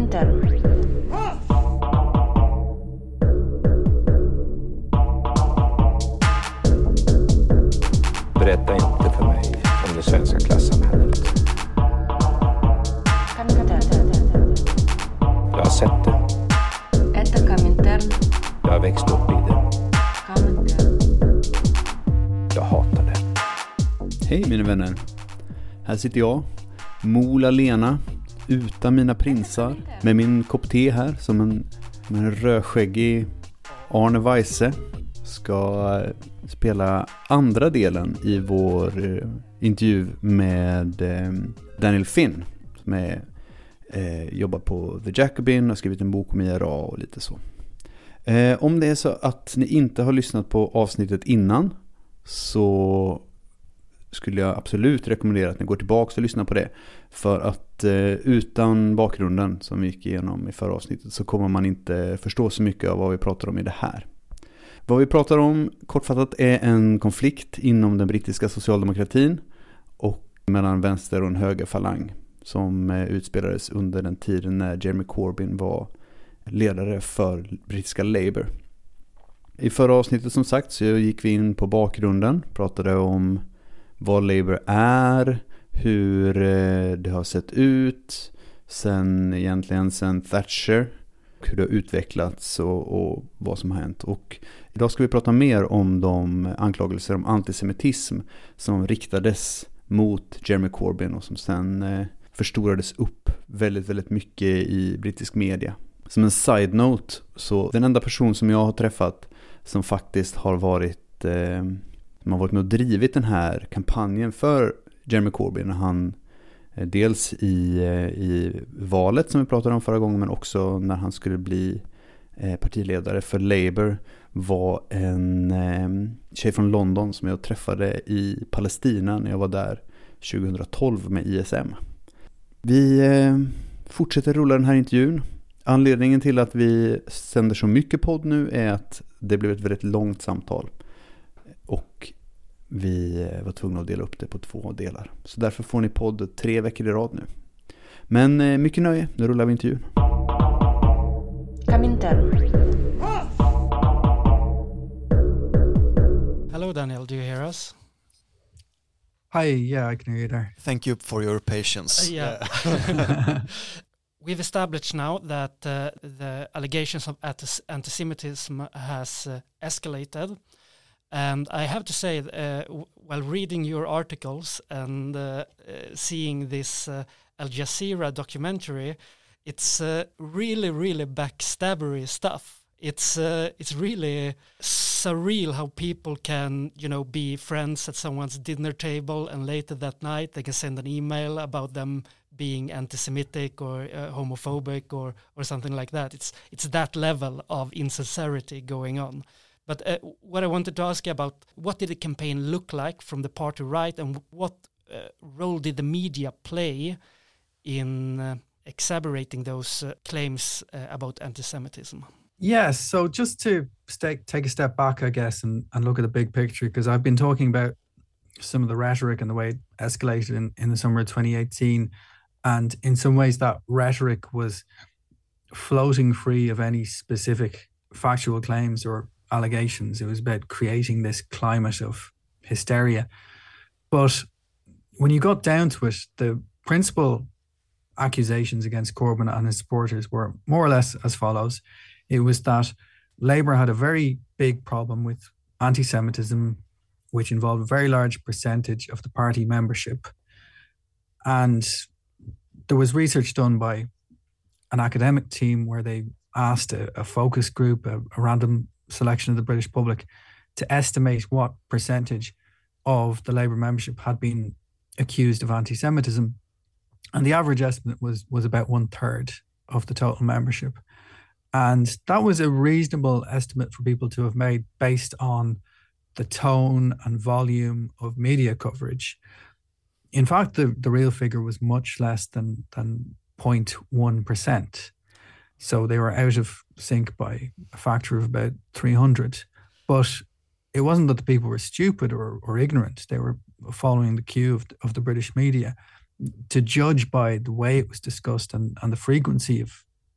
Komintern. Berätta inte för mig om det svenska klassamhället. Jag har sett det. Jag har växt upp i det. Jag hatar det. Hej mina vänner. Här sitter jag, Mola Lena, utan mina prinsar, med min kopp te här som en rödskäggig Arne Weise. Ska spela andra delen i vår intervju med Daniel Finn som jobbar på The Jacobin och skrivit en bok om IRA och lite så. Om det är så att ni inte har lyssnat på avsnittet innan, så skulle jag absolut rekommendera att ni går tillbaka och lyssnar på det. För att utan bakgrunden som vi gick igenom i förra avsnittet så kommer man inte förstå så mycket av vad vi pratar om i det här. Vad vi pratar om kortfattat är en konflikt inom den brittiska socialdemokratin och mellan vänster och en högerfalang som utspelades under den tiden när Jeremy Corbyn var ledare för brittiska Labour. I förra avsnittet som sagt så gick vi in på bakgrunden, pratade om vad Labour är, hur det har sett ut sen Thatcher, hur det har utvecklats och vad som har hänt. Och idag ska vi prata mer om de anklagelser om antisemitism som riktades mot Jeremy Corbyn och som sen förstorades upp väldigt, väldigt mycket i brittisk media. Som en side note, så den enda person som jag har träffat som faktiskt har varit med och drivit den här kampanjen för Jeremy Corbyn, han dels i valet som vi pratade om förra gången, men också när han skulle bli partiledare för Labour, var en tjej från London som jag träffade i Palestina när jag var där 2012 med ISM. Vi fortsätter rulla den här intervjun. Anledningen till att vi sänder så mycket podd nu är att det blev ett väldigt långt samtal och vi var tvungna att dela upp det på 2 delar. Så därför får ni podd 3 veckor i rad nu. Men mycket nöje, nu rullar vi intervjun. Hello Daniel, do you hear us? Hi, yeah, I can hear you there. Thank you for your patience. We've established now that the allegations of antisemitism has escalated. And I have to say, while reading your articles and seeing this Al Jazeera documentary, it's really, really backstabbery stuff. It's really surreal how people can, be friends at someone's dinner table and later that night they can send an email about them being anti-Semitic or homophobic or something like that. It's that level of insincerity going on. But what I wanted to ask you about, what did the campaign look like from the party right, and what role did the media play in exacerbating those claims about anti-Semitism? Yes, so just to take a step back, I guess, and look at the big picture, because I've been talking about some of the rhetoric and the way it escalated in the summer of 2018. And in some ways that rhetoric was floating free of any specific factual claims or allegations. It was about creating this climate of hysteria. But when you got down to it, the principal accusations against Corbyn and his supporters were more or less as follows. It was that Labour had a very big problem with anti-Semitism, which involved a very large percentage of the party membership. And there was research done by an academic team where they asked a focus group, a random selection of the British public, to estimate what percentage of the Labour membership had been accused of anti-Semitism. And the average estimate was about 1/3 of the total membership. And that was a reasonable estimate for people to have made based on the tone and volume of media coverage. In fact, the real figure was much less than 0.1%. So they were out of sync by a factor of about 300. But it wasn't that the people were stupid or ignorant. They were following the cue of the British media. To judge by the way it was discussed and the frequency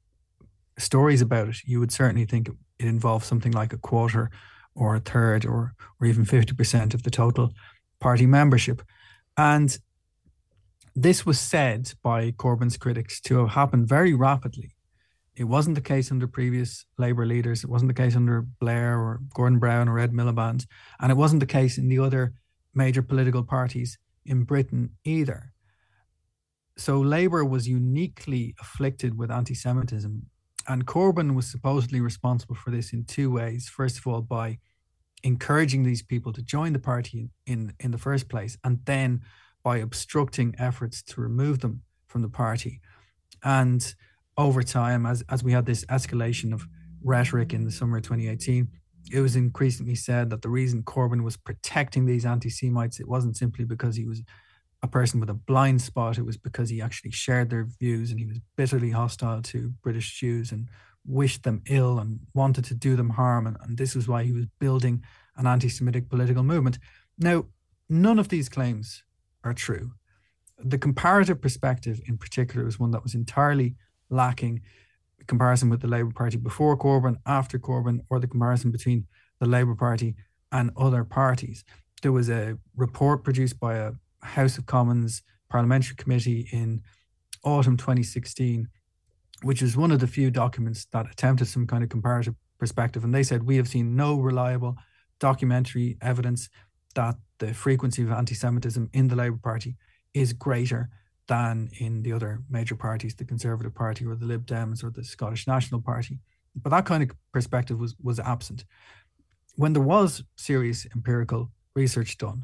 stories about it, you would certainly think it involved something like a quarter or a third or even 50% of the total party membership. And this was said by Corbyn's critics to have happened very rapidly. It wasn't the case under previous Labour leaders. It wasn't the case under Blair or Gordon Brown or Ed Miliband. And it wasn't the case in the other major political parties in Britain either. So Labour was uniquely afflicted with anti-Semitism. And Corbyn was supposedly responsible for this in two ways. First of all, by encouraging these people to join the party in the first place, and then by obstructing efforts to remove them from the party. And over time, as we had this escalation of rhetoric in the summer of 2018, it was increasingly said that the reason Corbyn was protecting these anti-Semites, it wasn't simply because he was a person with a blind spot, it was because he actually shared their views and he was bitterly hostile to British Jews and wished them ill and wanted to do them harm. And this was why he was building an anti-Semitic political movement. Now, none of these claims are true. The comparative perspective in particular is one that was entirely lacking. Comparison with the Labour Party before Corbyn, after Corbyn, or the comparison between the Labour Party and other parties. There was a report produced by a House of Commons parliamentary committee in autumn 2016, which was one of the few documents that attempted some kind of comparative perspective. And they said, we have seen no reliable documentary evidence that the frequency of anti-Semitism in the Labour Party is greater than in the other major parties, the Conservative Party or the Lib Dems or the Scottish National Party. But that kind of perspective was absent. When there was serious empirical research done,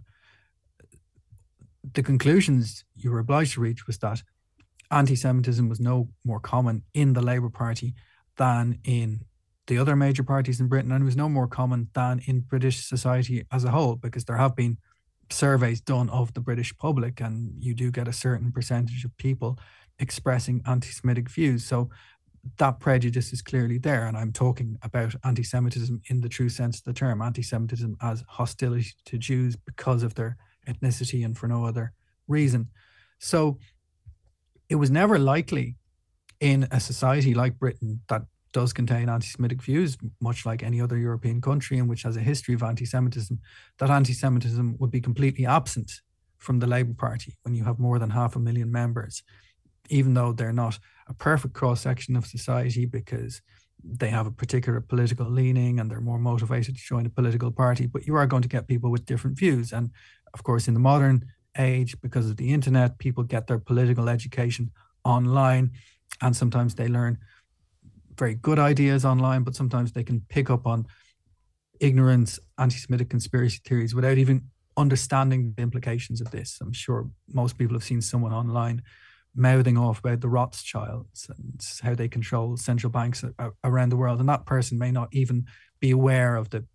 the conclusions you were obliged to reach was that anti-Semitism was no more common in the Labour Party than in the other major parties in Britain, and it was no more common than in British society as a whole, because there have been surveys done of the British public and you do get a certain percentage of people expressing anti-Semitic views. So that prejudice is clearly there. And I'm talking about anti-Semitism in the true sense of the term, anti-Semitism as hostility to Jews because of their ethnicity and for no other reason. So it was never likely in a society like Britain that does contain anti-Semitic views, much like any other European country and which has a history of anti-Semitism, that anti-Semitism would be completely absent from the Labour Party when you have more than 500,000 members, even though they're not a perfect cross-section of society because they have a particular political leaning and they're more motivated to join a political party. But you are going to get people with different views. And of course, in the modern age, because of the internet, people get their political education online, and sometimes they learn very good ideas online, but sometimes they can pick up on ignorant anti-Semitic conspiracy theories without even understanding the implications of this. I'm sure most people have seen someone online mouthing off about the Rothschilds and how they control central banks around the world, and that person may not even be aware of the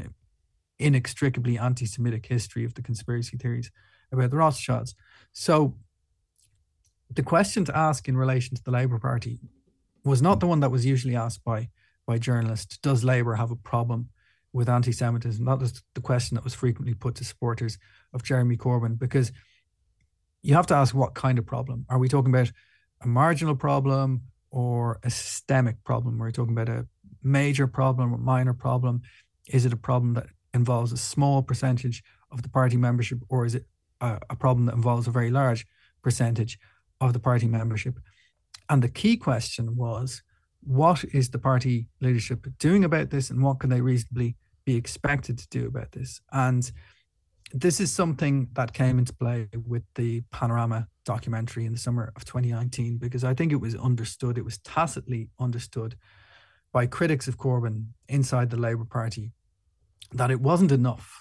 inextricably anti-Semitic history of the conspiracy theories about the Rothschilds. So the question to ask in relation to the Labour Party was not the one that was usually asked by journalists. Does Labour have a problem with anti-Semitism? That was the question that was frequently put to supporters of Jeremy Corbyn, because you have to ask what kind of problem. Are we talking about a marginal problem or a systemic problem? Are we talking about a major problem or minor problem? Is it a problem that involves a small percentage of the party membership, or is it a problem that involves a very large percentage of the party membership? And the key question was, what is the party leadership doing about this, and what can they reasonably be expected to do about this? And this is something that came into play with the Panorama documentary in the summer of 2019, because I think it was understood, it was tacitly understood by critics of Corbyn inside the Labour Party that it wasn't enough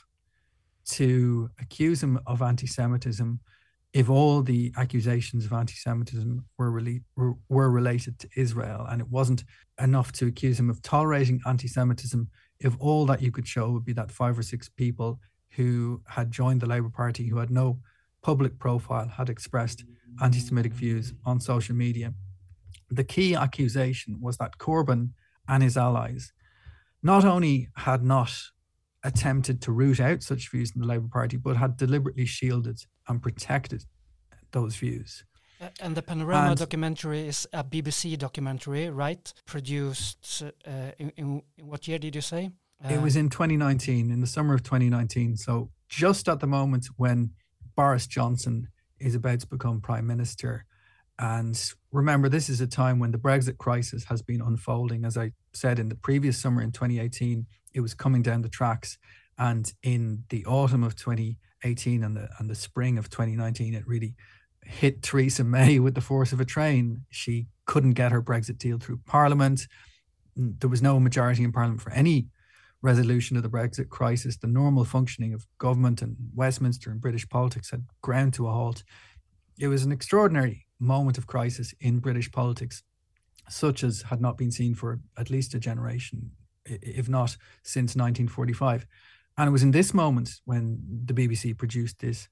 to accuse him of anti-Semitism if all the accusations of anti-Semitism were related to Israel, and it wasn't enough to accuse him of tolerating anti-Semitism if all that you could show would be that 5 or 6 people who had joined the Labour Party, who had no public profile, had expressed anti-Semitic views on social media. The key accusation was that Corbyn and his allies not only had not attempted to root out such views in the Labour Party, but had deliberately shielded and protected those views. And the Panorama documentary is a BBC documentary, right? Produced in what year did you say? It was in 2019, in the summer of 2019. So just at the moment when Boris Johnson is about to become Prime Minister. And remember, this is a time when the Brexit crisis has been unfolding. As I said, in the previous summer in 2018, it was coming down the tracks. And in the autumn of 2018 and the spring of 2019, it really hit Theresa May with the force of a train. She couldn't get her Brexit deal through Parliament. There was no majority in Parliament for any resolution of the Brexit crisis. The normal functioning of government and Westminster and British politics had ground to a halt. It was an extraordinary moment of crisis in British politics, such as had not been seen for at least a generation, if not since 1945. And it was in this moment when the BBC produced this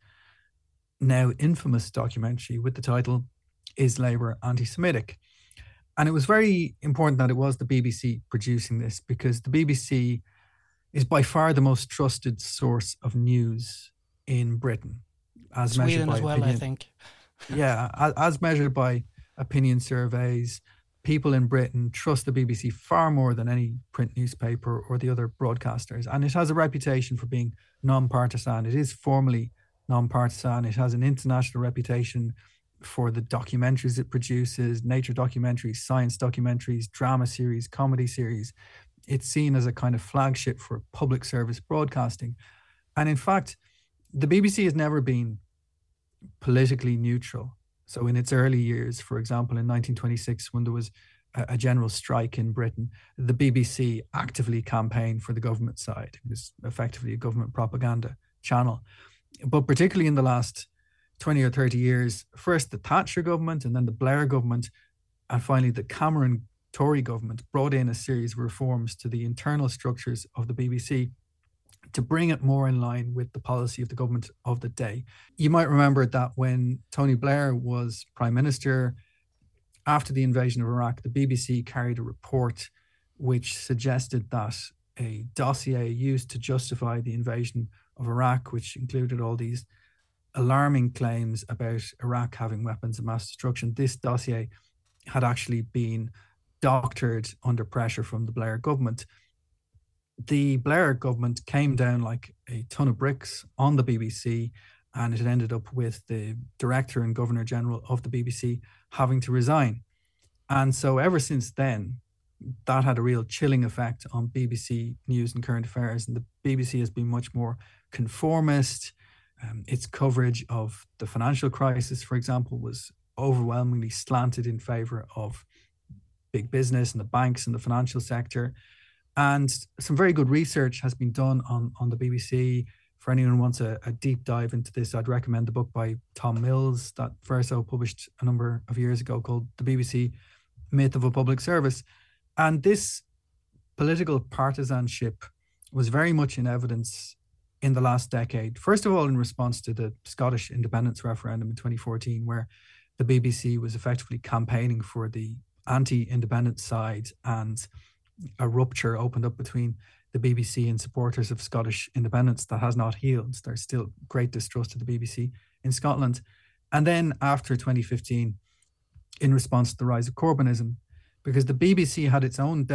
now infamous documentary with the title, Is Labour Anti-Semitic? And it was very important that it was the BBC producing this, because the BBC is by far the most trusted source of news in Britain. As Sweden measured by as well, opinion. I think. Yeah, as measured by opinion surveys, people in Britain trust the BBC far more than any print newspaper or the other broadcasters. And it has a reputation for being non-partisan. It is formally non-partisan. It has an international reputation for the documentaries it produces, nature documentaries, science documentaries, drama series, comedy series. It's seen as a kind of flagship for public service broadcasting. And in fact, the BBC has never been politically neutral. So in its early years, for example, in 1926, when there was a general strike in Britain, the BBC actively campaigned for the government side. It was effectively a government propaganda channel. But particularly in the last 20 or 30 years, first the Thatcher government and then the Blair government, and finally the Cameron Tory government brought in a series of reforms to the internal structures of the BBC to bring it more in line with the policy of the government of the day. You might remember that when Tony Blair was Prime Minister, after the invasion of Iraq, the BBC carried a report which suggested that a dossier used to justify the invasion of Iraq, which included all these alarming claims about Iraq having weapons of mass destruction, this dossier had actually been doctored under pressure from the Blair government. The Blair government came down like a ton of bricks on the BBC, and it ended up with the director and governor general of the BBC having to resign. And so ever since then, that had a real chilling effect on BBC news and current affairs. And the BBC has been much more conformist. Its coverage of the financial crisis, for example, was overwhelmingly slanted in favor of big business and the banks and the financial sector. And some very good research has been done on the BBC. For anyone who wants a deep dive into this, I'd recommend the book by Tom Mills that Verso published a number of years ago called The BBC Myth of a Public Service. And this political partisanship was very much in evidence in the last decade. First of all, in response to the Scottish independence referendum in 2014, where the BBC was effectively campaigning for the anti-independence side, and a rupture opened up between the BBC and supporters of Scottish independence that has not healed. There's still great distrust of the BBC in Scotland. And then after 2015, in response to the rise of Corbynism, because the BBC had its own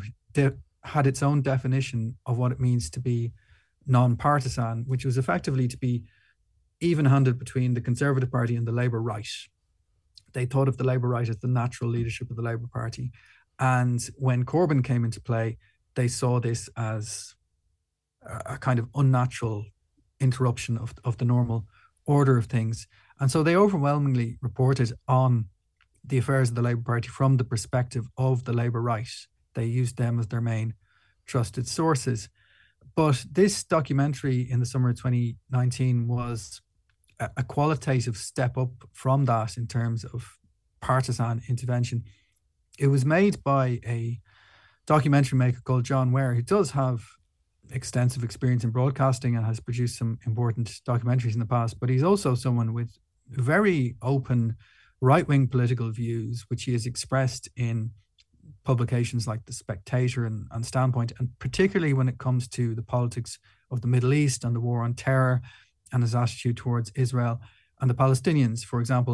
definition of what it means to be non-partisan, which was effectively to be even-handed between the Conservative Party and the Labour right. They thought of the Labour right as the natural leadership of the Labour Party. And when Corbyn came into play, they saw this as a kind of unnatural interruption of the normal order of things. And so they overwhelmingly reported on the affairs of the Labour Party from the perspective of the Labour right. They used them as their main trusted sources. But this documentary in the summer of 2019 was a qualitative step up from that in terms of partisan intervention. It was made by a documentary maker called John Ware, who does have extensive experience in broadcasting and has produced some important documentaries in the past, but he's also someone with very open right-wing political views, which he has expressed in publications like The Spectator and Standpoint, and particularly when it comes to the politics of the Middle East and the war on terror and his attitude towards Israel and the Palestinians. For example,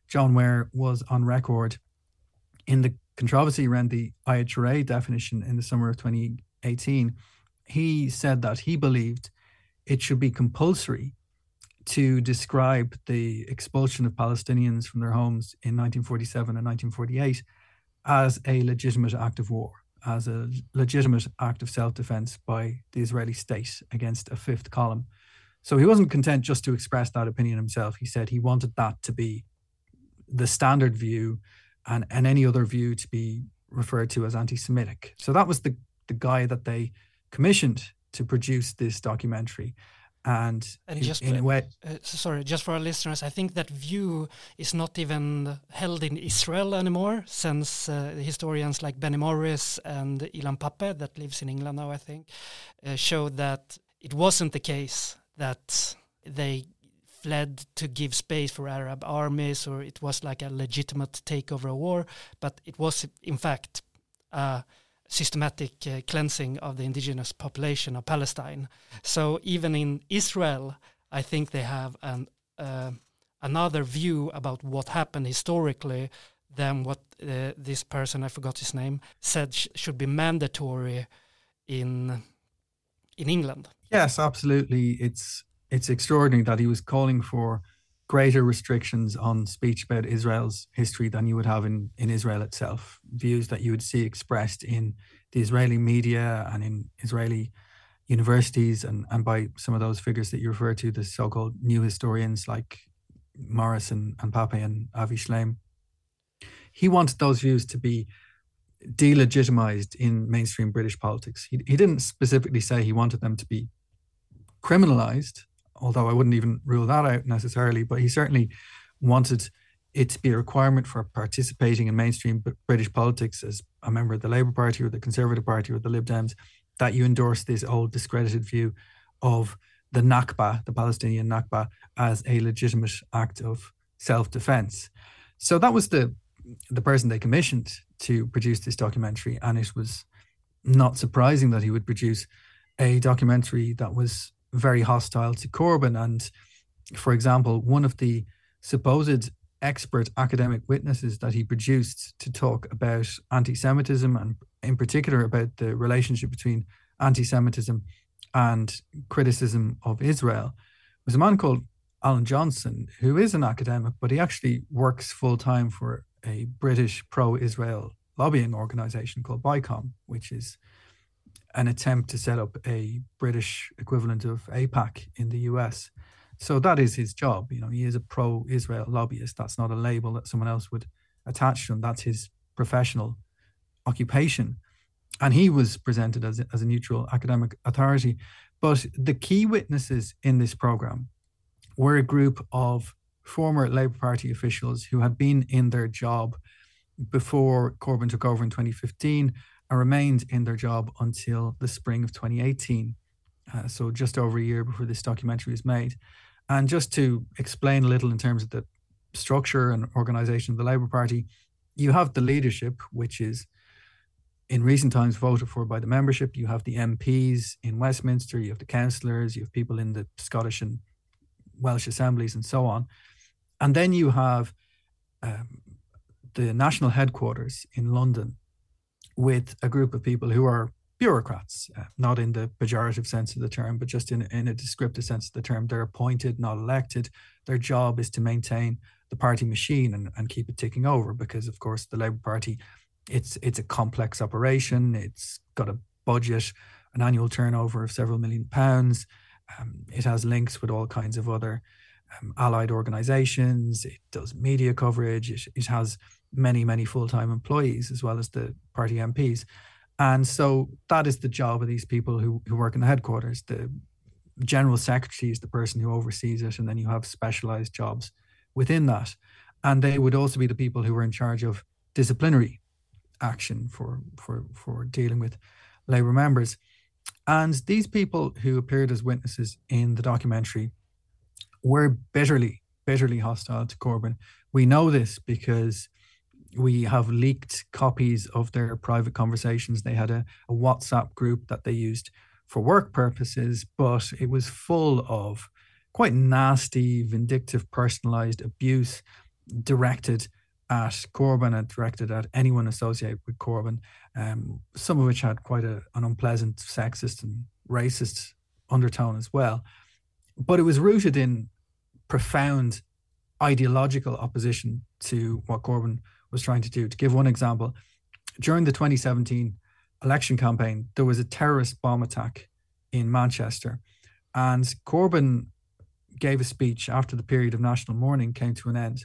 John Ware was on record in the controversy around the Ayat Sharia definition in the summer of 2018. He said that he believed it should be compulsory to describe the expulsion of Palestinians from their homes in 1947 and 1948 as a legitimate act of war, as a legitimate act of self-defense by the Israeli state against a fifth column. So he wasn't content just to express that opinion himself. He said he wanted that to be the standard view and any other view to be referred to as anti-Semitic. So that was the guy that they commissioned to produce this documentary. And just in a way, sorry, just for our listeners, I think that view is not even held in Israel anymore, since historians like Benny Morris and Ilan Pappé, that lives in England now, I think, showed that it wasn't the case that they fled to give space for Arab armies, or it was like a legitimate takeover war, but it was in fact systematic cleansing of the indigenous population of Palestine. So even in Israel, I think they have another view about what happened historically than what this person, I forgot his name, said should be mandatory in England. Yes, absolutely. It's extraordinary that he was calling for greater restrictions on speech about Israel's history than you would have in Israel itself. Views that you would see expressed in the Israeli media and in Israeli universities and by some of those figures that you refer to, the so-called new historians like Morris and Pappé and Avi Shlaim. He wanted those views to be delegitimized in mainstream British politics. He didn't specifically say he wanted them to be criminalized, although I wouldn't even rule that out necessarily, but he certainly wanted it to be a requirement for participating in mainstream British politics as a member of the Labour Party or the Conservative Party or the Lib Dems, that you endorse this old discredited view of the Nakba, the Palestinian Nakba, as a legitimate act of self-defense. So that was the person they commissioned to produce this documentary, and it was not surprising that he would produce a documentary that was very hostile to Corbyn. And for example, one of the supposed expert academic witnesses that he produced to talk about anti-Semitism, and in particular about the relationship between anti-Semitism and criticism of Israel, was a man called Alan Johnson, who is an academic, but he actually works full-time for a British pro-Israel lobbying organization called BICOM, which is an attempt to set up a British equivalent of AIPAC in the US. So that is his job. You know, he is a pro-Israel lobbyist. That's not a label that someone else would attach to him. That's his professional occupation. And he was presented as a neutral academic authority. But the key witnesses in this program were a group of former Labour Party officials who had been in their job before Corbyn took over in 2015 and remained in their job until the spring of 2018. So just over a year before this documentary was made. And just to explain a little in terms of the structure and organisation of the Labour Party, you have the leadership, which is in recent times voted for by the membership. You have the MPs in Westminster, you have the councillors, you have people in the Scottish and Welsh assemblies and so on. And then you have the national headquarters in London with a group of people who are bureaucrats, not in the pejorative sense of the term, but just in a descriptive sense of the term. They're appointed, not elected. Their job is to maintain the party machine and keep it ticking over, because, of course, the Labour Party, it's a complex operation. It's got a budget, an annual turnover of several £1 million. It has links with all kinds of other allied organisations. It does media coverage. It has many, many full-time employees as well as the party MPs. And so that is the job of these people who work in the headquarters. The general secretary is the person who oversees it, and then you have specialised jobs within that. And they would also be the people who are in charge of disciplinary action for dealing with Labour members. And these people who appeared as witnesses in the documentary were bitterly, bitterly hostile to Corbyn. We know this because we have leaked copies of their private conversations. They had a WhatsApp group that they used for work purposes, but it was full of quite nasty, vindictive, personalized abuse. directed at Corbyn and directed at anyone associated with Corbyn, some of which had quite an unpleasant sexist and racist undertone as well. But it was rooted in profound ideological opposition to what Corbyn was trying to do. To give one example, during the 2017 election campaign, there was a terrorist bomb attack in Manchester, and Corbyn gave a speech after the period of national mourning came to an end,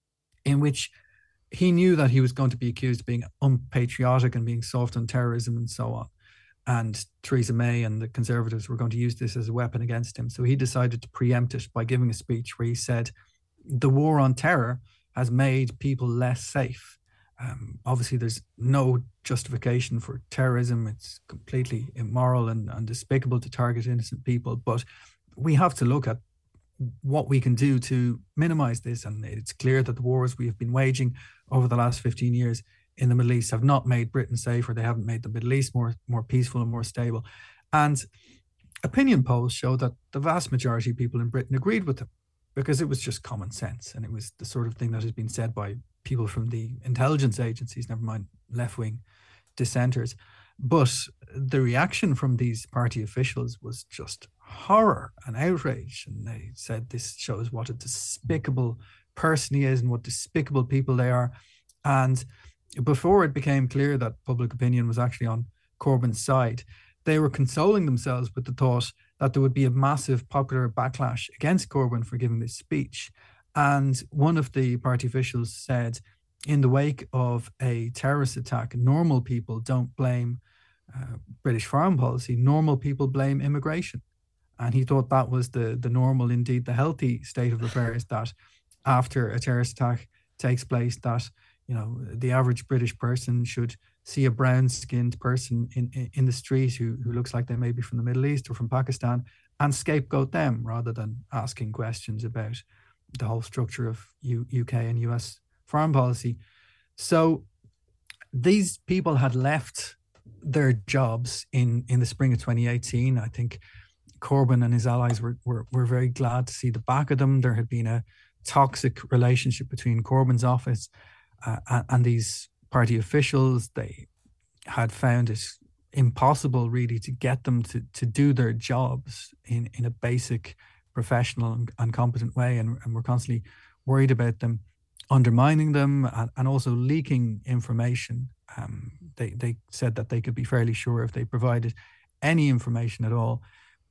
in which he knew that he was going to be accused of being unpatriotic and being soft on terrorism and so on. And Theresa May and the Conservatives were going to use this as a weapon against him. So he decided to preempt it by giving a speech where he said, the war on terror has made people less safe. Obviously, there's no justification for terrorism. It's completely immoral and despicable to target innocent people. But we have to look at what we can do to minimize this. And it's clear that the wars we have been waging over the last 15 years in the Middle East have not made Britain safer. They haven't made the Middle East more peaceful and more stable. And opinion polls show that the vast majority of people in Britain agreed with them, because it was just common sense. And it was the sort of thing that has been said by people from the intelligence agencies, never mind left-wing dissenters. But the reaction from these party officials was just horror and outrage. And they said this shows what a despicable person he is and what despicable people they are. And before it became clear that public opinion was actually on Corbyn's side, they were consoling themselves with the thought that there would be a massive popular backlash against Corbyn for giving this speech. And one of the party officials said, in the wake of a terrorist attack, normal people don't blame British foreign policy, normal people blame immigration. And he thought that was the normal, indeed the healthy state of affairs, that after a terrorist attack takes place, that, you know, the average British person should see a brown-skinned person in the street who looks like they may be from the Middle East or from Pakistan and scapegoat them rather than asking questions about the whole structure of UK and US foreign policy. So these people had left their jobs in the spring of 2018. I think Corbyn and his allies were very glad to see the back of them. There had been a toxic relationship between Corbyn's office and these party officials. They had found it impossible really to get them to do their jobs in a basic, professional and competent way, and were constantly worried about them undermining them and also leaking information. They said that they could be fairly sure if they provided any information at all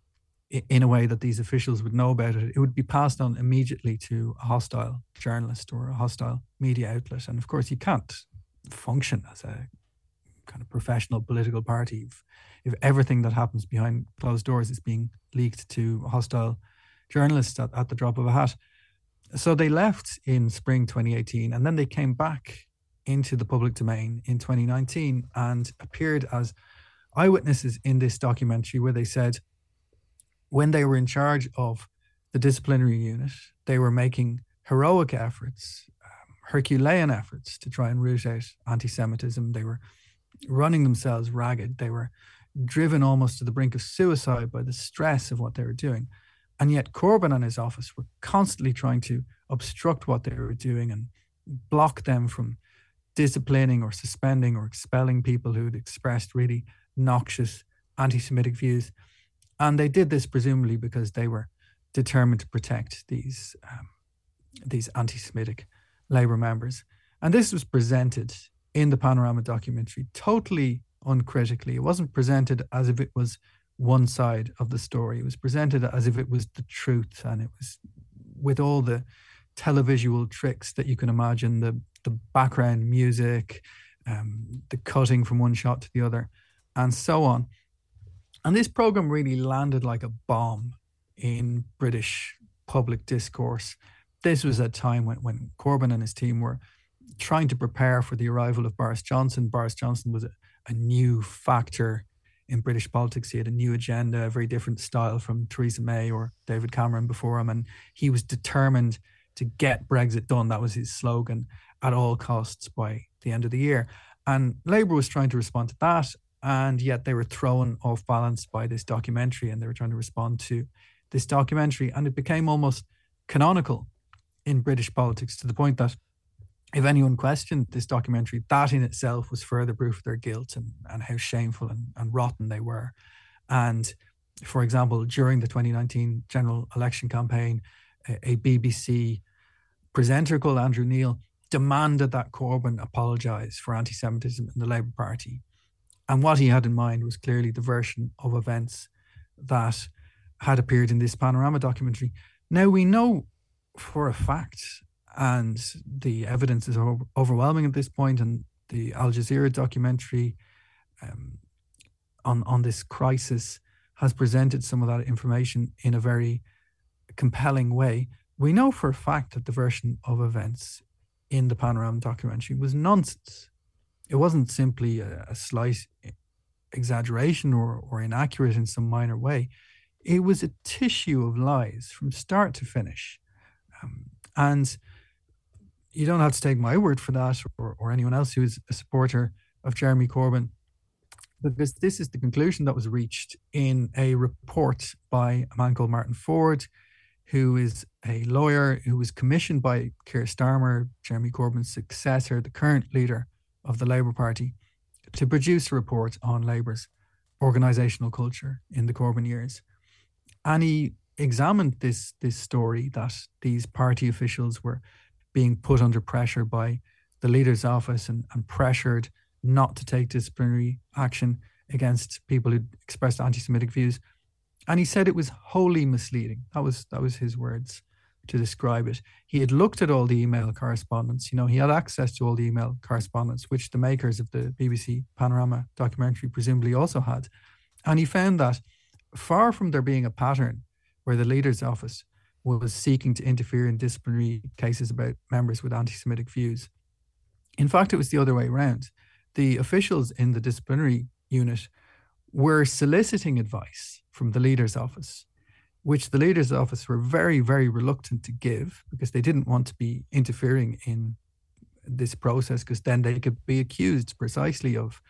in a way that these officials would know about it, it would be passed on immediately to a hostile journalist or a hostile media outlet. And of course, you can't function as a kind of professional political party if everything that happens behind closed doors is being leaked to hostile journalists at the drop of a hat. So they left in spring 2018, and then they came back into the public domain in 2019 and appeared as eyewitnesses in this documentary where they said when they were in charge of the disciplinary unit, they were making heroic efforts, Herculean efforts to try and root out anti-Semitism. They were running themselves ragged. They were driven almost to the brink of suicide by the stress of what they were doing. And yet Corbyn and his office were constantly trying to obstruct what they were doing and block them from disciplining or suspending or expelling people who'd expressed really noxious anti-Semitic views. And they did this presumably because they were determined to protect these anti-Semitic Labour members. And this was presented in the Panorama documentary totally uncritically. It wasn't presented as if it was one side of the story. It was presented as if it was the truth, and it was with all the televisual tricks that you can imagine, the background music, the cutting from one shot to the other, and so on. And this program really landed like a bomb in British public discourse. This was a time when Corbyn and his team were trying to prepare for the arrival of Boris Johnson. Boris Johnson was a new factor in British politics. He had a new agenda, a very different style from Theresa May or David Cameron before him. And he was determined to get Brexit done. That was his slogan, at all costs by the end of the year. And Labour was trying to respond to that. And yet they were thrown off balance by this documentary, and they were trying to respond to this documentary. And it became almost canonical in British politics, to the point that if anyone questioned this documentary, that in itself was further proof of their guilt and how shameful and rotten they were. And for example, during the 2019 general election campaign, a BBC presenter called Andrew Neil demanded that Corbyn apologise for anti-Semitism in the Labour Party. And what he had in mind was clearly the version of events that had appeared in this Panorama documentary. Now, we know for a fact, and the evidence is overwhelming at this point, and the Al Jazeera documentary on this crisis has presented some of that information in a very compelling way. We know for a fact that the version of events in the Panorama documentary was nonsense. It wasn't simply a slight exaggeration or inaccurate in some minor way. It was a tissue of lies from start to finish. And you don't have to take my word for that, or anyone else who is a supporter of Jeremy Corbyn, because this is the conclusion that was reached in a report by a man called Martin Ford, who is a lawyer who was commissioned by Keir Starmer, Jeremy Corbyn's successor, the current leader of the Labour Party, to produce a report on Labour's organisational culture in the Corbyn years. And he examined this story that these party officials were being put under pressure by the leader's office and pressured not to take disciplinary action against people who expressed anti-Semitic views. And he said it was wholly misleading. That was his words to describe it. He had looked at all the email correspondence. He had access to all the email correspondence, which the makers of the BBC Panorama documentary presumably also had. And he found that far from there being a pattern where the leader's office was seeking to interfere in disciplinary cases about members with anti-Semitic views, in fact, it was the other way around. The officials in the disciplinary unit were soliciting advice from the leader's office, which the leader's office were very, very reluctant to give because they didn't want to be interfering in this process, because then they could be accused precisely of,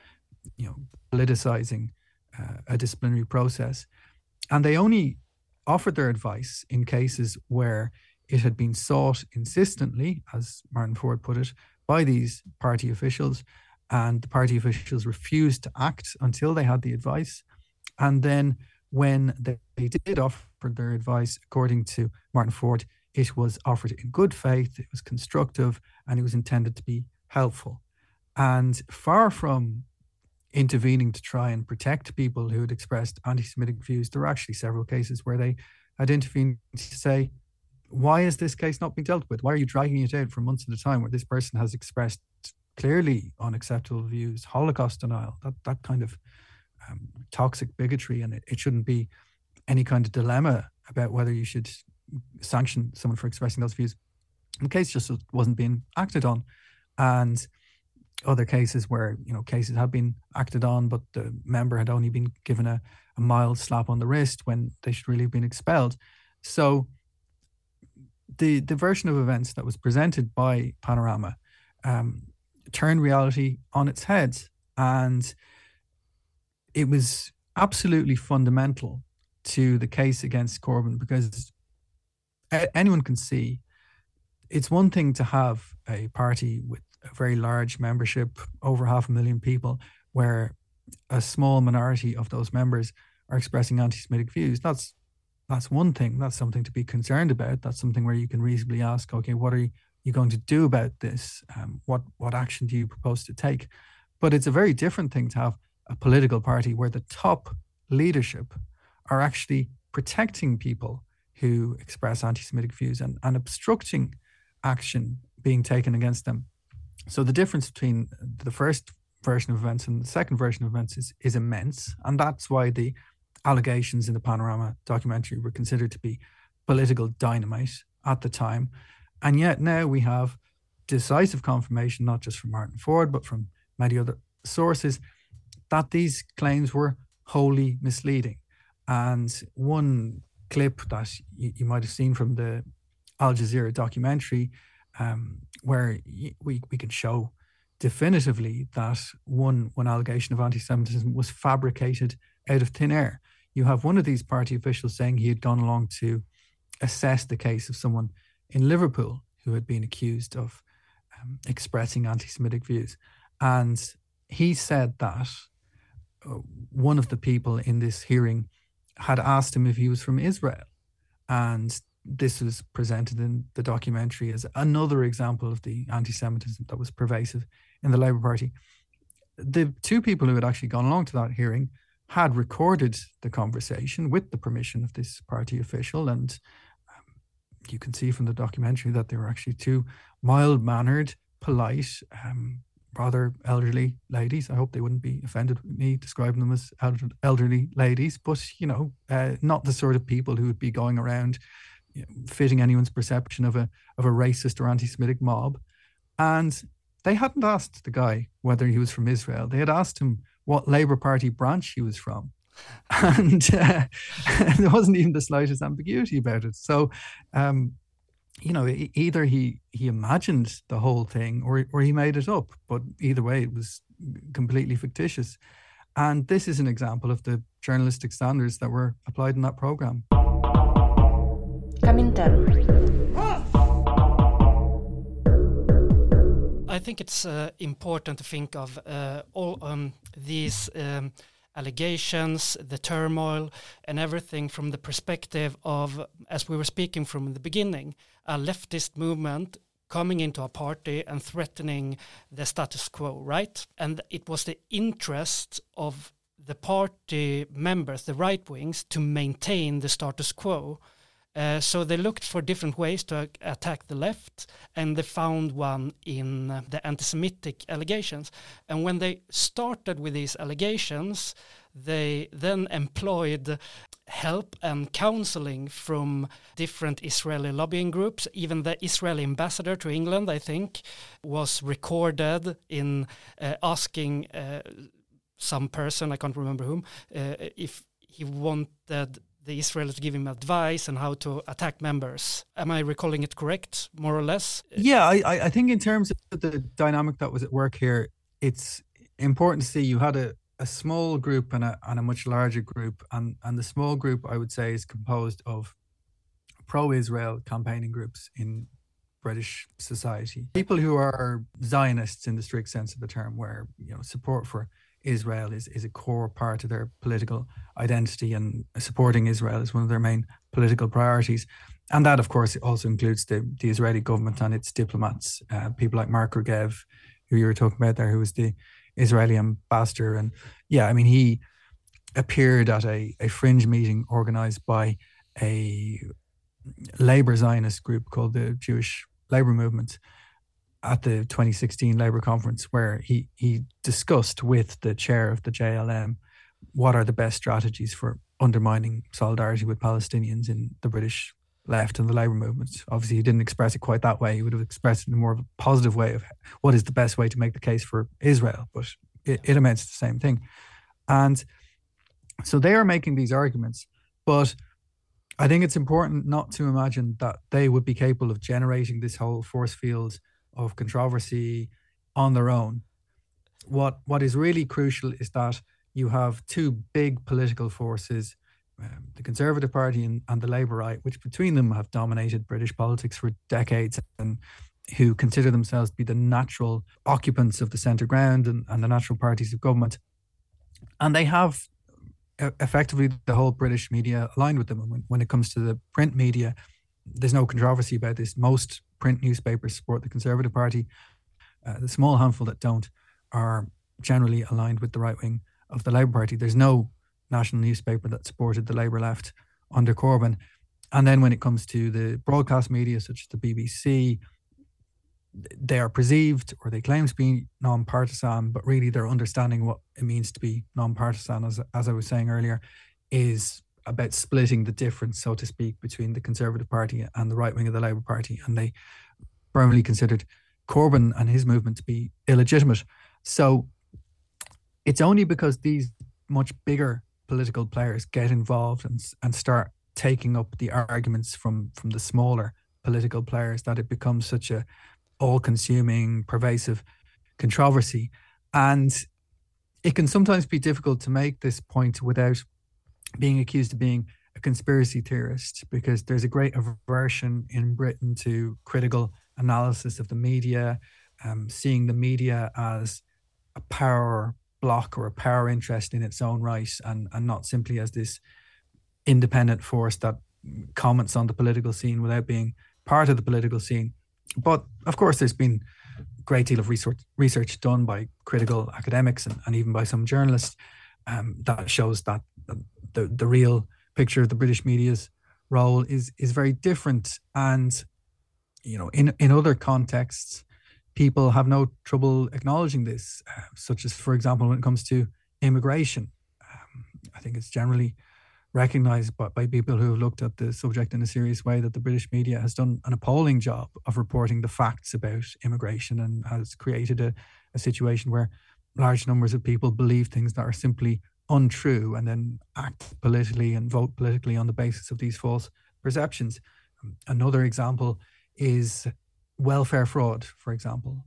politicizing a disciplinary process. And they only offered their advice in cases where it had been sought insistently, as Martin Ford put it, by these party officials, and the party officials refused to act until they had the advice. And then when they did offer their advice, according to Martin Ford, it was offered in good faith, it was constructive, and it was intended to be helpful. And far from intervening to try and protect people who had expressed anti-Semitic views, there were actually several cases where they had intervened to say, why is this case not being dealt with? Why are you dragging it out for months at a time where this person has expressed clearly unacceptable views, Holocaust denial, that kind of toxic bigotry, and it shouldn't be any kind of dilemma about whether you should sanction someone for expressing those views. The case just wasn't being acted on. And other cases where, cases had been acted on, but the member had only been given a mild slap on the wrist when they should really have been expelled. So the version of events that was presented by Panorama turned reality on its head. And it was absolutely fundamental to the case against Corbyn, because anyone can see it's one thing to have a party with a very large membership, over 500,000 people, where a small minority of those members are expressing anti-Semitic views. That's one thing. That's something to be concerned about. That's something where you can reasonably ask, okay, what are you going to do about this? What action do you propose to take? But it's a very different thing to have a political party where the top leadership are actually protecting people who express anti-Semitic views and obstructing action being taken against them. So the difference between the first version of events and the second version of events is immense. And that's why the allegations in the Panorama documentary were considered to be political dynamite at the time. And yet now we have decisive confirmation, not just from Martin Ford, but from many other sources, that these claims were wholly misleading. And one clip that you might have seen from the Al Jazeera documentary, where we can show definitively that one allegation of anti-Semitism was fabricated out of thin air. You have one of these party officials saying he had gone along to assess the case of someone in Liverpool who had been accused of expressing anti-Semitic views. And he said that one of the people in this hearing had asked him if he was from Israel. And this was presented in the documentary as another example of the anti-Semitism that was pervasive in the Labour Party. The two people who had actually gone along to that hearing had recorded the conversation with the permission of this party official. And you can see from the documentary that they were actually two mild-mannered, polite, rather elderly ladies. I hope they wouldn't be offended with me describing them as elderly ladies, but, not the sort of people who would be going around fitting anyone's perception of a racist or anti-Semitic mob. And they hadn't asked the guy whether he was from Israel. They had asked him what Labour Party branch he was from. And there wasn't even the slightest ambiguity about it. So, either he imagined the whole thing or he made it up. But either way, it was completely fictitious. And this is an example of the journalistic standards that were applied in that programme. I think it's important to think of all these allegations, the turmoil, and everything from the perspective of, as we were speaking from the beginning, a leftist movement coming into a party and threatening the status quo, right? And it was the interest of the party members, the right wings, to maintain the status quo. So they looked for different ways to attack the left, and they found one in the anti-Semitic allegations. And when they started with these allegations, they then employed help and counseling from different Israeli lobbying groups. Even the Israeli ambassador to England, I think, was recorded in asking some person, I can't remember whom, if he wanted the Israelis to give him advice on how to attack members. Am I recalling it correct, more or less? Yeah, I think in terms of the dynamic that was at work here, it's important to see you had a small group and a much larger group. And the small group, I would say, is composed of pro-Israel campaigning groups in British society. People who are Zionists in the strict sense of the term, where support for Israel is a core part of their political identity, and supporting Israel is one of their main political priorities. And that, of course, also includes the Israeli government and its diplomats, people like Mark Regev, who you were talking about there, who was the Israeli ambassador. And he appeared at a fringe meeting organized by a Labour Zionist group called the Jewish Labour Movement at the 2016 Labour conference, where he discussed with the chair of the JLM what are the best strategies for undermining solidarity with Palestinians in the British left and the Labour movement. Obviously, he didn't express it quite that way. He would have expressed it in a more of a positive way of what is the best way to make the case for Israel, but it amounts to the same thing. And so they are making these arguments, but I think it's important not to imagine that they would be capable of generating this whole force field of controversy on their own. What is really crucial is that you have two big political forces, the Conservative Party and the Labour right, which between them have dominated British politics for decades, and who consider themselves to be the natural occupants of the centre ground and the natural parties of government. And they have effectively the whole British media aligned with them. When it comes to the print media, there's no controversy about this. Most print newspapers support the Conservative Party. The small handful that don't are generally aligned with the right wing of the Labour Party. There's no national newspaper that supported the Labour left under Corbyn. And then when it comes to the broadcast media, such as the BBC, they are perceived, or they claim to be non-partisan, but really their understanding what it means to be non-partisan, as I was saying earlier, is about splitting the difference, so to speak, between the Conservative Party and the right wing of the Labour Party. And they firmly considered Corbyn and his movement to be illegitimate. So it's only because these much bigger political players get involved and start taking up the arguments from the smaller political players that it becomes such a all-consuming, pervasive controversy. And it can sometimes be difficult to make this point without being accused of being a conspiracy theorist, because there's a great aversion in Britain to critical analysis of the media, seeing the media as a power block or a power interest in its own right, and not simply as this independent force that comments on the political scene without being part of the political scene. But of course, there's been a great deal of research done by critical academics and even by some journalists that shows that the real picture of the British media's role is very different. And, in other contexts, people have no trouble acknowledging this, such as, for example, when it comes to immigration. I think it's generally recognized by people who have looked at the subject in a serious way that the British media has done an appalling job of reporting the facts about immigration, and has created a situation where large numbers of people believe things that are simply untrue and then act politically and vote politically on the basis of these false perceptions. Another example is welfare fraud, for example,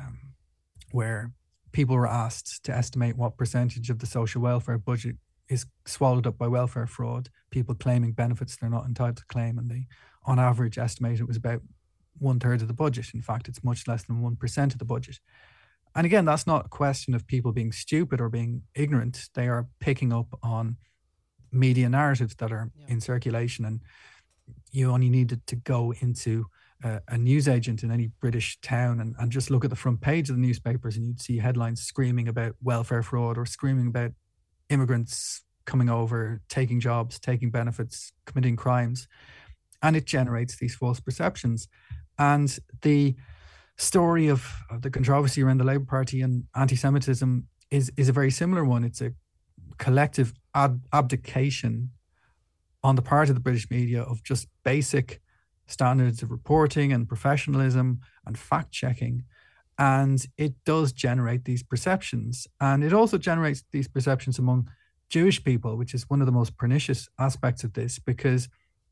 where people were asked to estimate what percentage of the social welfare budget is swallowed up by welfare fraud, people claiming benefits they're not entitled to claim, and they, on average, estimate it was about 1/3 of the budget. In fact, it's much less than 1% of the budget. And again, that's not a question of people being stupid or being ignorant. They are picking up on media narratives that are in circulation, and you only needed to go into a newsagent in any British town and just look at the front page of the newspapers, and you'd see headlines screaming about welfare fraud or screaming about immigrants coming over, taking jobs, taking benefits, committing crimes. And it generates these false perceptions. And the story of the controversy around the Labour Party and anti-Semitism is a very similar one. It's a collective abdication on the part of the British media of just basic standards of reporting and professionalism and fact-checking. And it does generate these perceptions. And it also generates these perceptions among Jewish people, which is one of the most pernicious aspects of this, because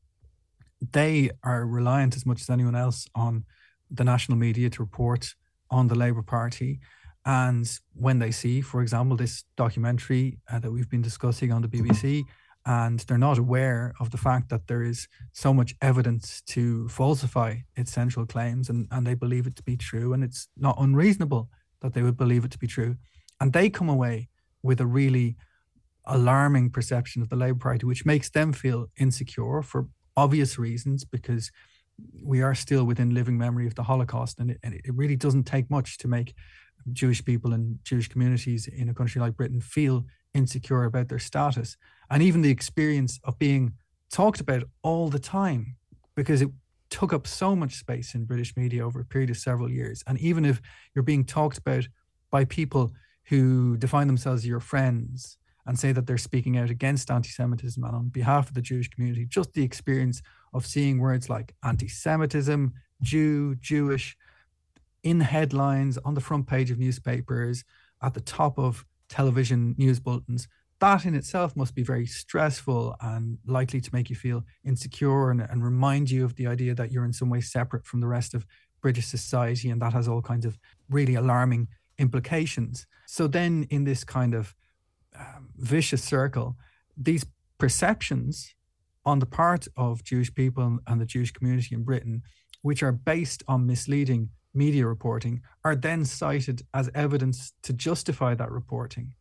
they are reliant as much as anyone else on the national media to report on the Labour Party. And when they see, for example, this documentary that we've been discussing on the BBC, and they're not aware of the fact that there is so much evidence to falsify its central claims, and they believe it to be true, and it's not unreasonable that they would believe it to be true. And they come away with a really alarming perception of the Labour Party, which makes them feel insecure for obvious reasons, because we are still within living memory of the Holocaust, and it really doesn't take much to make Jewish people and Jewish communities in a country like Britain feel insecure about their status. And even the experience of being talked about all the time, because it took up so much space in British media over a period of several years. And even if you're being talked about by people who define themselves as your friends and say that they're speaking out against anti-Semitism and on behalf of the Jewish community, just the experience of seeing words like anti-Semitism, Jew, Jewish, in headlines, on the front page of newspapers, at the top of television news bulletins, that in itself must be very stressful and likely to make you feel insecure and remind you of the idea that you're in some way separate from the rest of British society, and that has all kinds of really alarming implications. So then in this kind of vicious circle, these perceptions on the part of Jewish people and the Jewish community in Britain, which are based on misleading media reporting, are then cited as evidence to justify that reporting.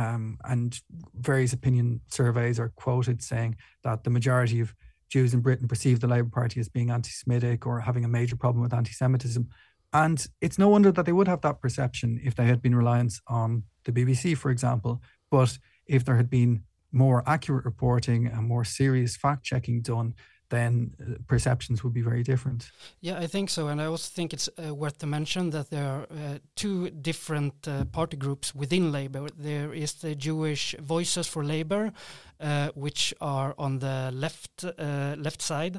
And various opinion surveys are quoted saying that the majority of Jews in Britain perceive the Labour Party as being anti-Semitic or having a major problem with anti-Semitism. And it's no wonder that they would have that perception if they had been reliant on the BBC, for example. But if there had been more accurate reporting and more serious fact-checking done, then perceptions would be very different. Yeah, I think so. And I also think it's worth to mention that there are two different party groups within Labour. There is the Jewish Voices for Labour, which are on the left side,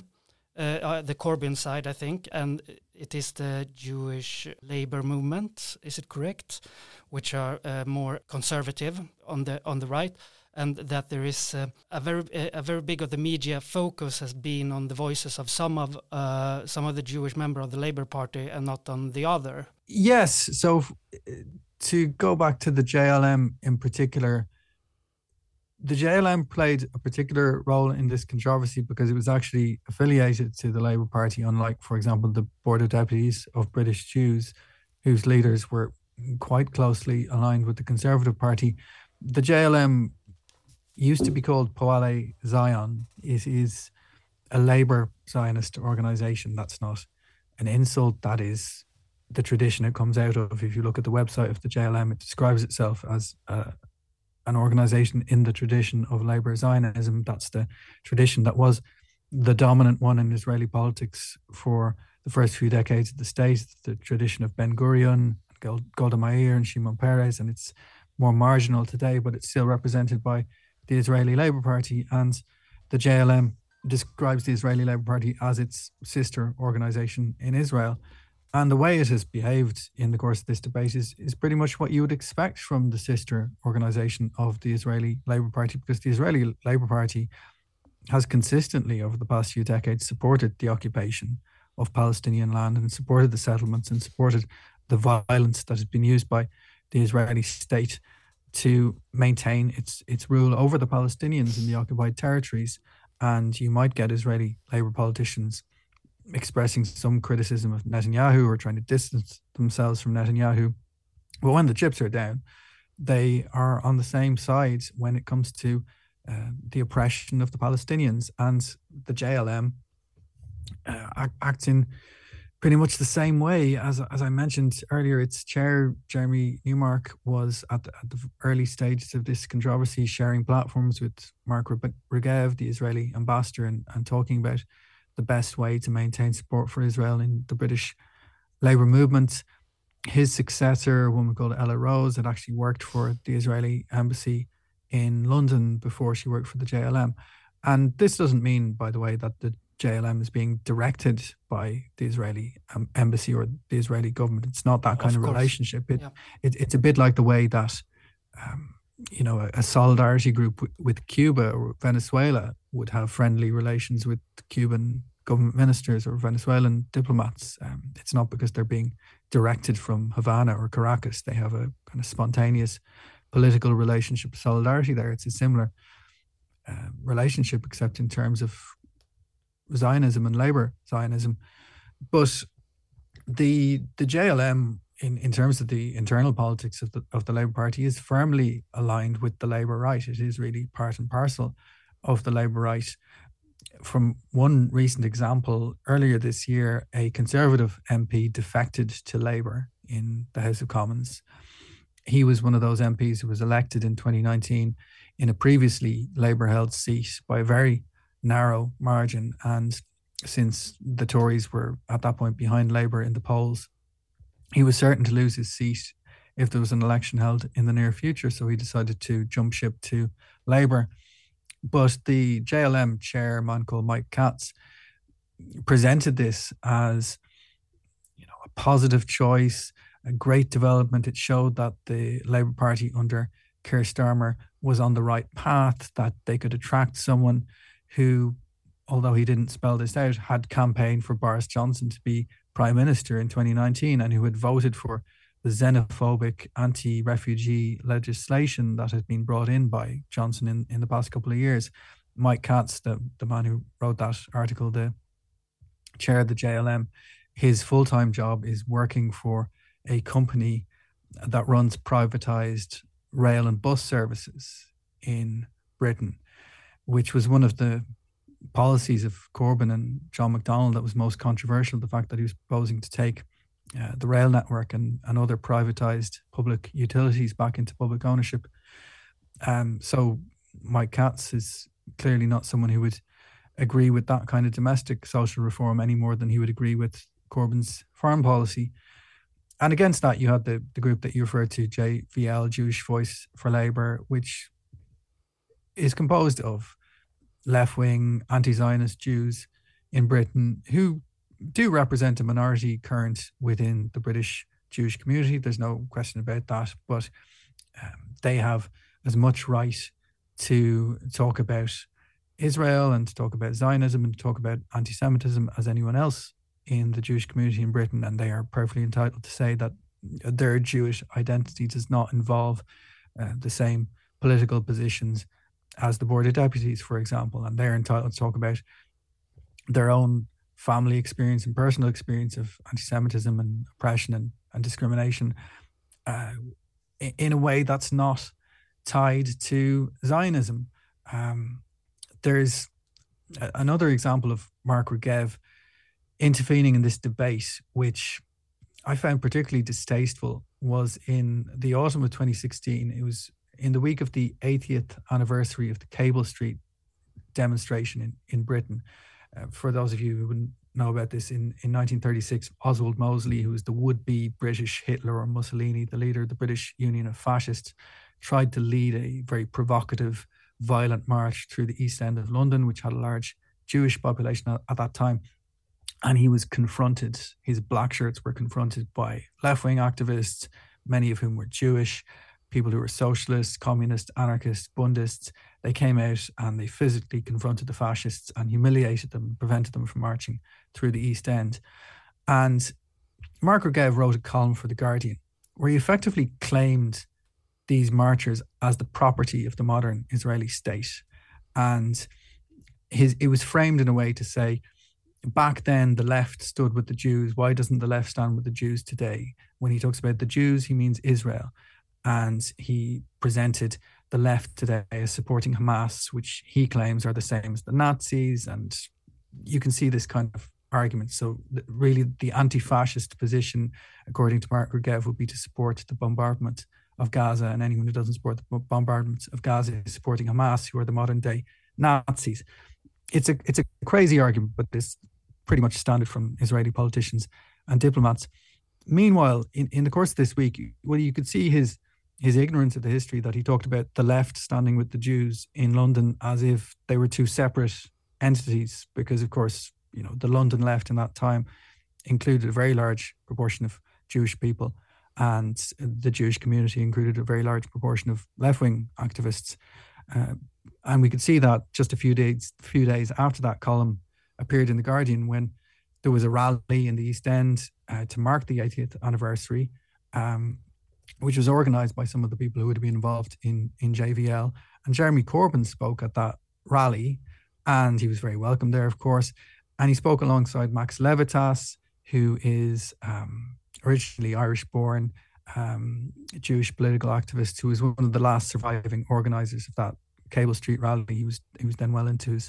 the Corbyn side, I think. And it is the Jewish Labour Movement, is it correct? Which are more conservative on the right. And that there is a very big of the media focus has been on the voices of some of the Jewish members of the Labour Party and not on the other. Yes. So to go back to the JLM in particular, the JLM played a particular role in this controversy because it was actually affiliated to the Labour Party, unlike, for example, the Board of Deputies of British Jews, whose leaders were quite closely aligned with the Conservative Party. The JLM used to be called Poale Zion. It is a Labour Zionist organisation. That's not an insult. That is the tradition it comes out of. If you look at the website of the JLM, it describes itself as an organisation in the tradition of Labour Zionism. That's the tradition that was the dominant one in Israeli politics for the first few decades of the state, the tradition of Ben Gurion, Golda Meir and Shimon Peres, and it's more marginal today, but it's still represented by the Israeli Labour Party. And the JLM describes the Israeli Labour Party as its sister organisation in Israel. And the way it has behaved in the course of this debate is pretty much what you would expect from the sister organisation of the Israeli Labour Party, because the Israeli Labour Party has consistently over the past few decades supported the occupation of Palestinian land and supported the settlements and supported the violence that has been used by the Israeli state to maintain its rule over the Palestinians in the occupied territories. And you might get Israeli Labour politicians expressing some criticism of Netanyahu or trying to distance themselves from Netanyahu. But when the chips are down, they are on the same side when it comes to the oppression of the Palestinians. And the JLM acts in pretty much the same way. As I mentioned earlier, its chair, Jeremy Newmark, was at the early stages of this controversy sharing platforms with Mark Regev, the Israeli ambassador, and talking about the best way to maintain support for Israel in the British Labour movement. His successor, a woman called Ella Rose, had actually worked for the Israeli embassy in London before she worked for the JLM. And this doesn't mean, by the way, that the JLM is being directed by the Israeli embassy or the Israeli government. It's not that kind of relationship. It's a bit like the way that, a solidarity group with Cuba or Venezuela would have friendly relations with Cuban government ministers or Venezuelan diplomats. It's not because they're being directed from Havana or Caracas. They have a kind of spontaneous political relationship, solidarity there. It's a similar relationship, except in terms of Zionism and Labour Zionism. But the JLM, in terms of the internal politics of the Labour Party, is firmly aligned with the Labour right. It is really part and parcel of the Labour right. From one recent example, earlier this year, a Conservative MP defected to Labour in the House of Commons. He was one of those MPs who was elected in 2019 in a previously Labour-held seat by a very narrow margin. And since the Tories were at that point behind Labour in the polls, he was certain to lose his seat if there was an election held in the near future. So he decided to jump ship to Labour. But the JLM chair, a man called Mike Katz, presented this as, a positive choice, a great development. It showed that the Labour Party under Keir Starmer was on the right path, that they could attract someone who, although he didn't spell this out, had campaigned for Boris Johnson to be Prime Minister in 2019 and who had voted for the xenophobic anti-refugee legislation that had been brought in by Johnson in the past couple of years. Mike Katz, the man who wrote that article, the chair of the JLM, his full-time job is working for a company that runs privatised rail and bus services in Britain, which was one of the policies of Corbyn and John McDonnell that was most controversial, the fact that he was proposing to take the rail network and other privatised public utilities back into public ownership. So Mike Katz is clearly not someone who would agree with that kind of domestic social reform any more than he would agree with Corbyn's foreign policy. And against that, you had the group that you referred to, JVL, Jewish Voice for Labour, which is composed of left-wing, anti-Zionist Jews in Britain who do represent a minority current within the British Jewish community. There's no question about that. But they have as much right to talk about Israel and to talk about Zionism and to talk about anti-Semitism as anyone else in the Jewish community in Britain. And they are perfectly entitled to say that their Jewish identity does not involve the same political positions as the Board of Deputies, for example, and they're entitled to talk about their own family experience and personal experience of anti-Semitism and oppression and discrimination in a way that's not tied to Zionism. There's another example of Mark Regev intervening in this debate, which I found particularly distasteful, was in the autumn of 2016. It was in the week of the 80th anniversary of the Cable Street demonstration in Britain. For those of you who wouldn't know about this, in 1936, Oswald Mosley, who was the would-be British Hitler or Mussolini, the leader of the British Union of Fascists, tried to lead a very provocative, violent march through the East End of London, which had a large Jewish population at that time. And he was confronted, his black shirts were confronted by left-wing activists, many of whom were Jewish, people who were socialists, communists, anarchists, Bundists. They came out and they physically confronted the fascists and humiliated them, prevented them from marching through the East End. And Mark Regev wrote a column for The Guardian where he effectively claimed these marchers as the property of the modern Israeli state. And it was framed in a way to say, back then the left stood with the Jews. Why doesn't the left stand with the Jews today? When he talks about the Jews, he means Israel. And he presented the left today as supporting Hamas, which he claims are the same as the Nazis. And you can see this kind of argument. So really the anti-fascist position, according to Mark Regev, would be to support the bombardment of Gaza, and anyone who doesn't support the bombardment of Gaza is supporting Hamas, who are the modern day Nazis. It's a crazy argument, but it's pretty much standard from Israeli politicians and diplomats. Meanwhile, in the course of this week, well, you could see his ignorance of the history, that he talked about the left standing with the Jews in London as if they were two separate entities, because of course, the London left in that time included a very large proportion of Jewish people, and the Jewish community included a very large proportion of left-wing activists. And we could see that just a few days after that column appeared in The Guardian, when there was a rally in the East End to mark the 80th anniversary, which was organised by some of the people who would have been involved in JVL. And Jeremy Corbyn spoke at that rally, and he was very welcome there, of course. And he spoke alongside Max Levitas, who is originally Irish-born, Jewish political activist, who was one of the last surviving organisers of that Cable Street rally. He was then well into his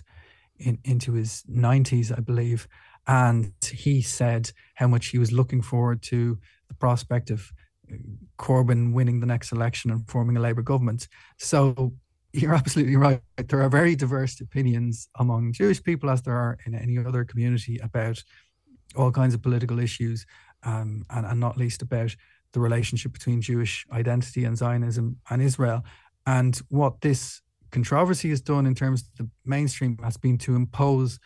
90s, I believe, and he said how much he was looking forward to the prospect of Corbyn winning the next election and forming a Labour government. So you're absolutely right. There are very diverse opinions among Jewish people, as there are in any other community, about all kinds of political issues, and not least about the relationship between Jewish identity and Zionism and Israel. And what this controversy has done in terms of the mainstream has been to impose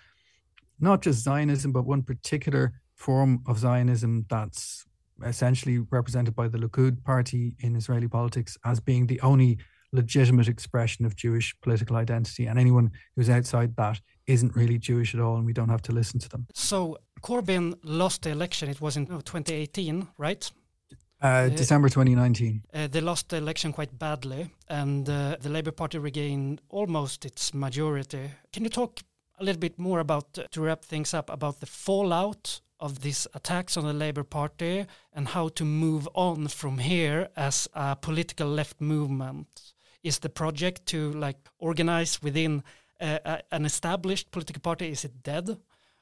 not just Zionism, but one particular form of Zionism that's essentially represented by the Likud party in Israeli politics as being the only legitimate expression of Jewish political identity. And anyone who's outside that isn't really Jewish at all, and we don't have to listen to them. So Corbyn lost the election. It was in 2018, right? December 2019. They lost the election quite badly, and the Labour Party regained almost its majority. Can you talk a little bit more about, to wrap things up, about the fallout of these attacks on the Labour Party and how to move on from here as a political left movement? Is the project to organize within an established political party, is it dead?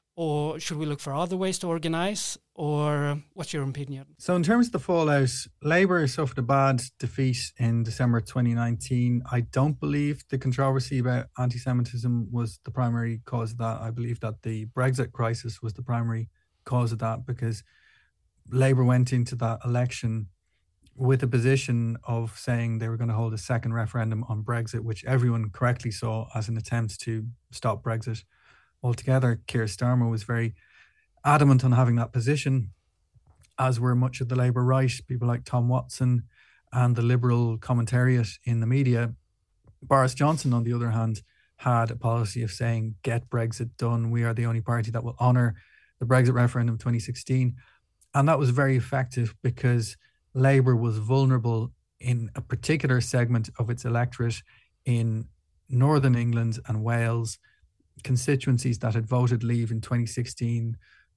Or should we look for other ways to organise? Or what's your opinion? So in terms of the fallout, Labour suffered a bad defeat in December 2019. I don't believe the controversy about anti-Semitism was the primary cause of that. I believe that the Brexit crisis was the primary cause of that, because Labour went into that election with a position of saying they were going to hold a second referendum on Brexit, which everyone correctly saw as an attempt to stop Brexit altogether. Keir Starmer was very adamant on having that position, as were much of the Labour right, people like Tom Watson and the Liberal commentariat in the media. Boris Johnson, on the other hand, had a policy of saying, get Brexit done. We are the only party that will honour the Brexit referendum of 2016. And that was very effective because Labour was vulnerable in a particular segment of its electorate in Northern England and Wales, constituencies that had voted Leave in 2016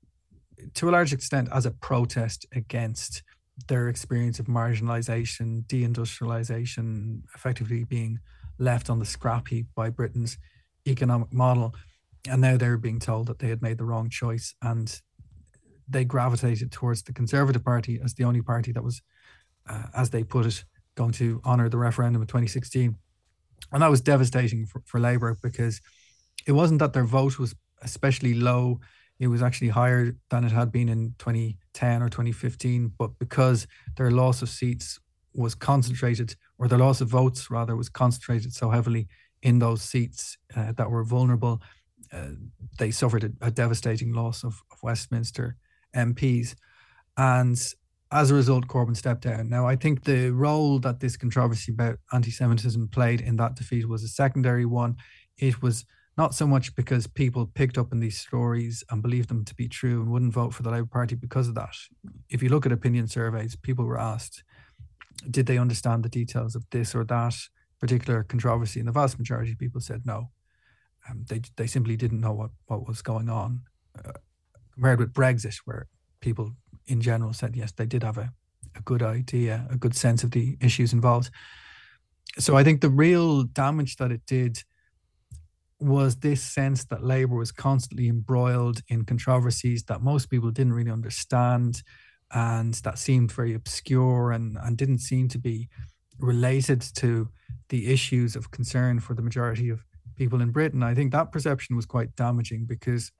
to a large extent as a protest against their experience of marginalisation, deindustrialisation, effectively being left on the scrap heap by Britain's economic model. And now they're being told that they had made the wrong choice, and they gravitated towards the Conservative Party as the only party that was, as they put it, going to honour the referendum of 2016. And that was devastating for Labour, because it wasn't that their vote was especially low. It was actually higher than it had been in 2010 or 2015. But because their loss of seats was concentrated, or their loss of votes rather, was concentrated so heavily in those seats that were vulnerable, they suffered a devastating loss of Westminster MPs. And as a result, Corbyn stepped down. Now, I think the role that this controversy about anti-Semitism played in that defeat was a secondary one. It was not so much because people picked up on these stories and believed them to be true and wouldn't vote for the Labour Party because of that. If you look at opinion surveys, people were asked, did they understand the details of this or that particular controversy? And the vast majority of people said no. They simply didn't know what was going on. Compared with Brexit, where people in general said, yes, they did have a good idea, a good sense of the issues involved. So I think the real damage that it did was this sense that Labour was constantly embroiled in controversies that most people didn't really understand, and that seemed very obscure and didn't seem to be related to the issues of concern for the majority of people in Britain. I think that perception was quite damaging, because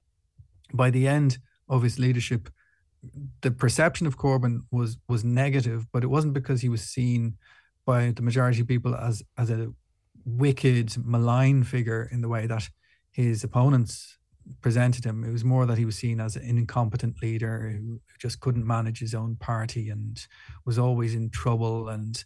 by the end of his leadership, the perception of Corbyn was negative, but it wasn't because he was seen by the majority of people as a wicked, malign figure in the way that his opponents presented him. It was more that he was seen as an incompetent leader who just couldn't manage his own party and was always in trouble and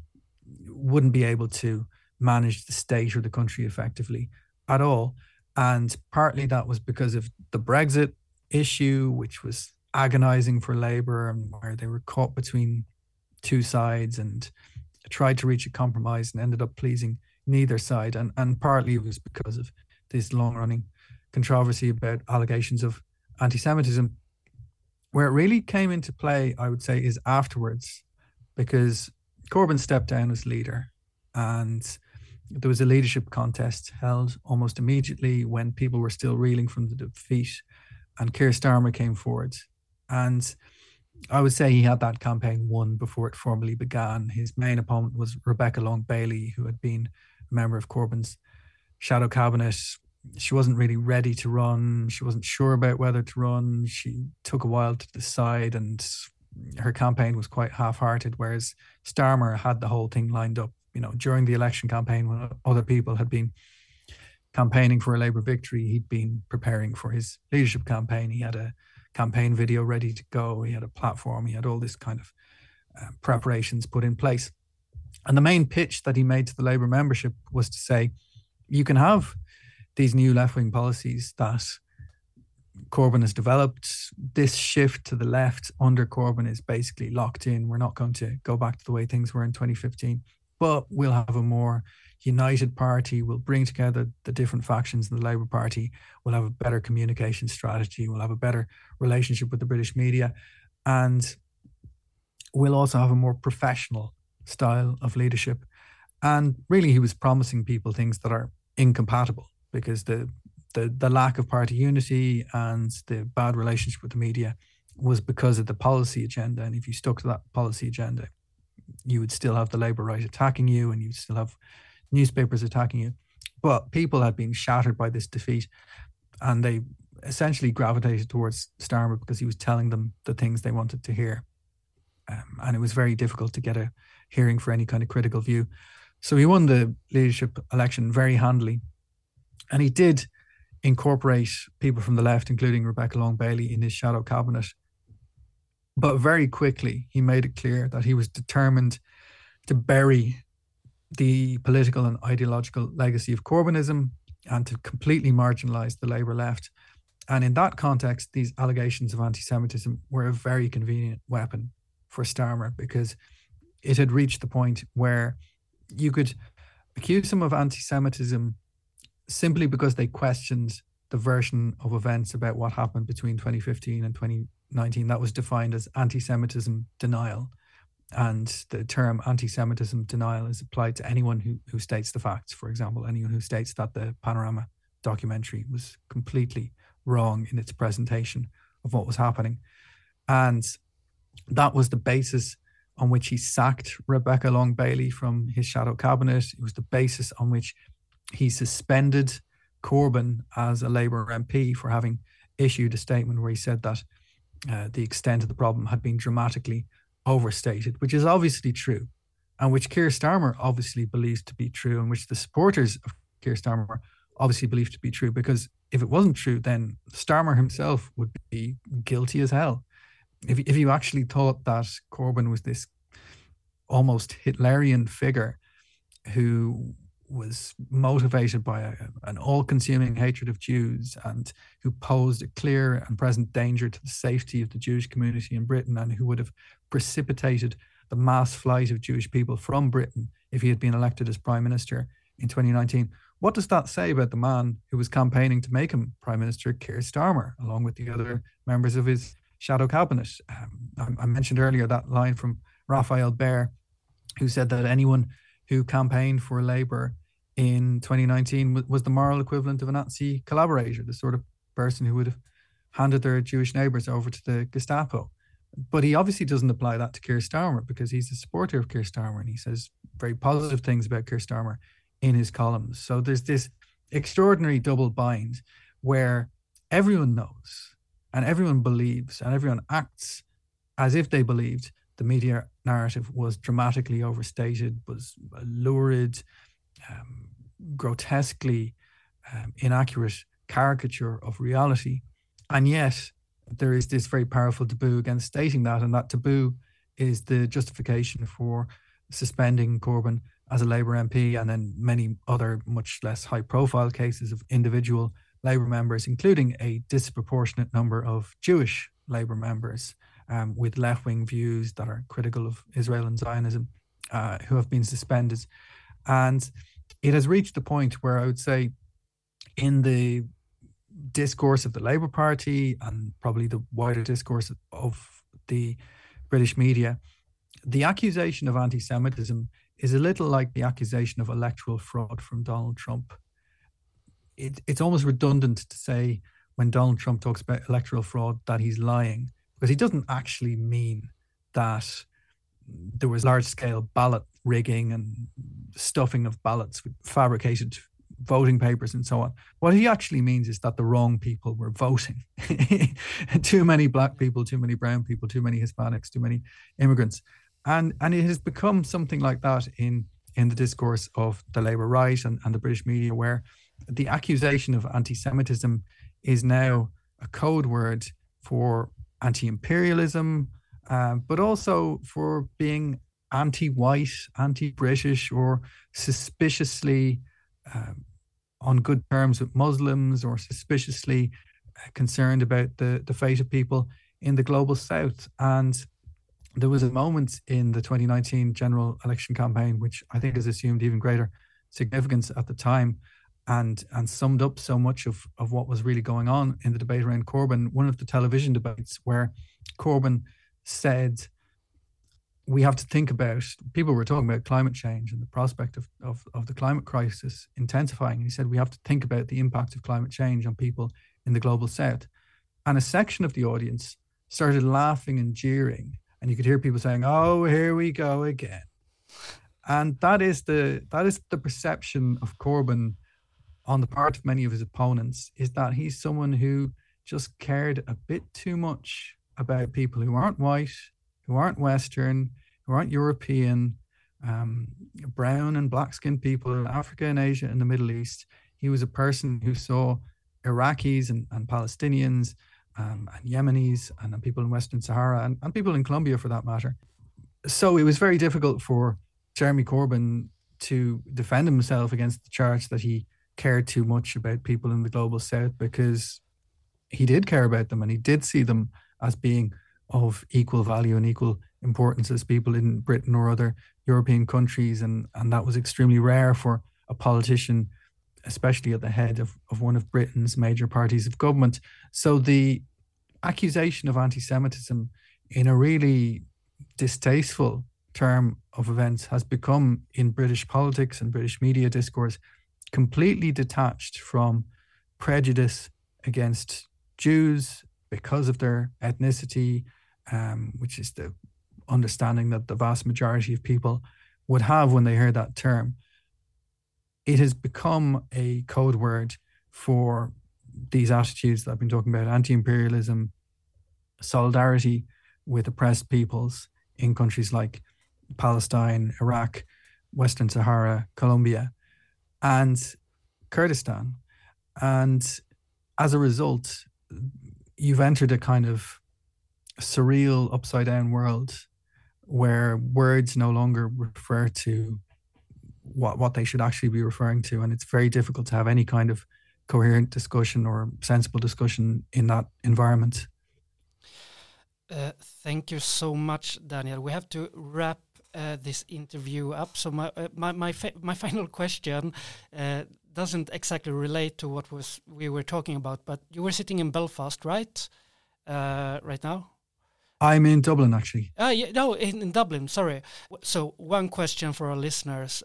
wouldn't be able to manage the state or the country effectively at all. And partly that was because of the Brexit issue, which was agonizing for Labour, and where they were caught between two sides and tried to reach a compromise and ended up pleasing neither side. And partly it was because of this long-running controversy about allegations of anti-Semitism. Where it really came into play, I would say, is afterwards, because Corbyn stepped down as leader, and there was a leadership contest held almost immediately when people were still reeling from the defeat, and Keir Starmer came forward. And I would say he had that campaign won before it formally began. His main opponent was Rebecca Long-Bailey, who had been a member of Corbyn's shadow cabinet. She wasn't really ready to run. She wasn't sure about whether to run. She took a while to decide, and her campaign was quite half-hearted, whereas Starmer had the whole thing lined up. You know, during the election campaign, when other people had been campaigning for a Labour victory, he'd been preparing for his leadership campaign. He had a campaign video ready to go. He had a platform. He had all this kind of preparations put in place. And the main pitch that he made to the Labour membership was to say, you can have these new left-wing policies that Corbyn has developed. This shift to the left under Corbyn is basically locked in. We're not going to go back to the way things were in 2015, but we'll have a more united party. We'll bring together the different factions in the Labour Party. We'll have a better communication strategy. We'll have a better relationship with the British media. And we'll also have a more professional style of leadership. And really, he was promising people things that are incompatible, because the lack of party unity and the bad relationship with the media was because of the policy agenda. And if you stuck to that policy agenda, you would still have the Labour right attacking you, and you'd still have newspapers attacking you. But people had been shattered by this defeat, and they essentially gravitated towards Starmer because he was telling them the things they wanted to hear. And it was very difficult to get a hearing for any kind of critical view. So he won the leadership election very handily. And he did incorporate people from the left, including Rebecca Long-Bailey, in his shadow cabinet. But very quickly, he made it clear that he was determined to bury the political and ideological legacy of Corbynism and to completely marginalise the Labour left. And in that context, these allegations of anti-Semitism were a very convenient weapon for Starmer, because it had reached the point where you could accused him of anti-Semitism simply because they questioned the version of events about what happened between 2015 and 2019 that was defined as anti-Semitism denial. And the term anti-Semitism denial is applied to anyone who states the facts. For example, anyone who states that the Panorama documentary was completely wrong in its presentation of what was happening. And that was the basis on which he sacked Rebecca Long Bailey from his shadow cabinet. It was the basis on which he suspended Corbyn as a Labour MP for having issued a statement where he said that the extent of the problem had been dramatically overstated, which is obviously true, and which Keir Starmer obviously believes to be true, and which the supporters of Keir Starmer obviously believe to be true, because if it wasn't true, then Starmer himself would be guilty as hell. If you actually thought that Corbyn was this almost Hitlerian figure who was motivated by an all-consuming hatred of Jews and who posed a clear and present danger to the safety of the Jewish community in Britain, and who would have precipitated the mass flight of Jewish people from Britain if he had been elected as Prime Minister in 2019, what does that say about the man who was campaigning to make him Prime Minister, Keir Starmer, along with the other members of his shadow cabinet? I mentioned earlier that line from Raphael Baer, who said that anyone who campaigned for Labour in 2019 was the moral equivalent of a Nazi collaborator, the sort of person who would have handed their Jewish neighbours over to the Gestapo. But he obviously doesn't apply that to Keir Starmer, because he's a supporter of Keir Starmer and he says very positive things about Keir Starmer in his columns. So there's this extraordinary double bind where everyone knows and everyone believes and everyone acts as if they believed the media narrative was dramatically overstated, was a lurid, grotesquely inaccurate caricature of reality. And yet there is this very powerful taboo against stating that, and that taboo is the justification for suspending Corbyn as a Labour MP, and then many other much less high-profile cases of individual Labour members, including a disproportionate number of Jewish Labour members with left-wing views that are critical of Israel and Zionism, who have been suspended. And it has reached the point where I would say in the discourse of the Labour Party and probably the wider discourse of the British media, the accusation of anti-Semitism is a little like the accusation of electoral fraud from Donald Trump. It's almost redundant to say when Donald Trump talks about electoral fraud that he's lying, because he doesn't actually mean that there was large-scale ballot rigging and stuffing of ballots with fabricated voting papers and so on. What he actually means is that the wrong people were voting. Too many black people, too many brown people, too many Hispanics, too many immigrants. And it has become something like that in the discourse of the Labour right and the British media, where the accusation of anti-Semitism is now a code word for anti-imperialism, but also for being anti-white, anti-British, or suspiciously on good terms with Muslims, or suspiciously concerned about the fate of people in the global south. And there was a moment in the 2019 general election campaign, which I think has assumed even greater significance at the time, and summed up so much of what was really going on in the debate around Corbyn. One of the television debates where Corbyn said, we have to think about, people were talking about climate change and the prospect of the climate crisis intensifying. And he said, we have to think about the impact of climate change on people in the global south. And a section of the audience started laughing and jeering. And you could hear people saying, oh, here we go again. And that is the perception of Corbyn on the part of many of his opponents, is that he's someone who just cared a bit too much about people who aren't white, who aren't Western, who aren't European, brown and black-skinned people in Africa and Asia and the Middle East. He was a person who saw Iraqis and Palestinians and Yemenis and people in Western Sahara and people in Colombia for that matter. So it was very difficult for Jeremy Corbyn to defend himself against the charge that he cared too much about people in the global south, because he did care about them and he did see them as being of equal value and equal importance as people in Britain or other European countries, and that was extremely rare for a politician, especially at the head of one of Britain's major parties of government. So the accusation of anti-Semitism in a really distasteful term of events has become, in British politics and British media discourse, completely detached from prejudice against Jews because of their ethnicity, which is the understanding that the vast majority of people would have when they hear that term. It has become a code word for these attitudes that I've been talking about: anti-imperialism, solidarity with oppressed peoples in countries like Palestine, Iraq, Western Sahara, Colombia, and Kurdistan. And as a result, you've entered a kind of surreal upside-down world where words no longer refer to what they should actually be referring to, and it's very difficult to have any kind of coherent discussion or sensible discussion in that environment. Thank you so much, Daniel. We have to wrap this interview up. So my final question doesn't exactly relate to what we were talking about, but you were sitting in Belfast, right? Right now? I'm in Dublin, actually. In Dublin, sorry. So one question for our listeners.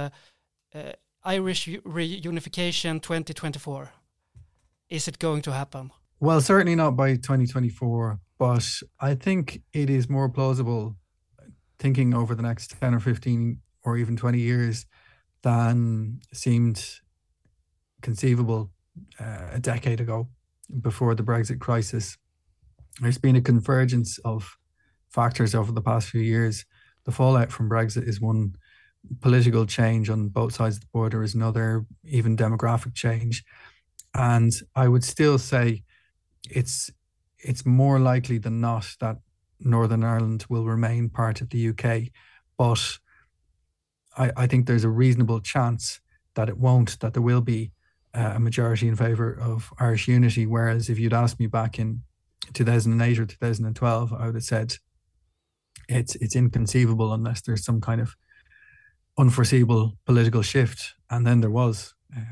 Irish reunification 2024. Is it going to happen? Well, certainly not by 2024, but I think it is more plausible thinking over the next 10 or 15 or even 20 years than seemed conceivable a decade ago before the Brexit crisis. There's been a convergence of factors over the past few years. The fallout from Brexit is one, political change on both sides of the border is another, even demographic change. And I would still say it's more likely than not that Northern Ireland will remain part of the UK. But I think there's a reasonable chance that it won't, that there will be a majority in favour of Irish unity. Whereas if you'd asked me back in 2008 or 2012, I would have said it's inconceivable unless there's some kind of unforeseeable political shift. And then there was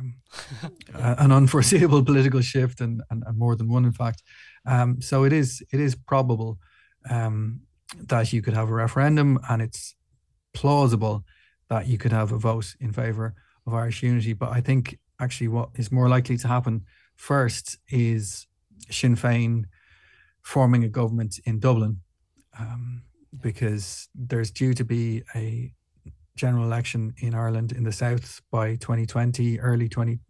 an unforeseeable political shift, and more than one, in fact. So it is probable that you could have a referendum, and it's plausible that you could have a vote in favour of Irish unity. But I think actually what is more likely to happen first is Sinn Féin forming a government in Dublin, because there's due to be a general election in Ireland in the south by 2020, early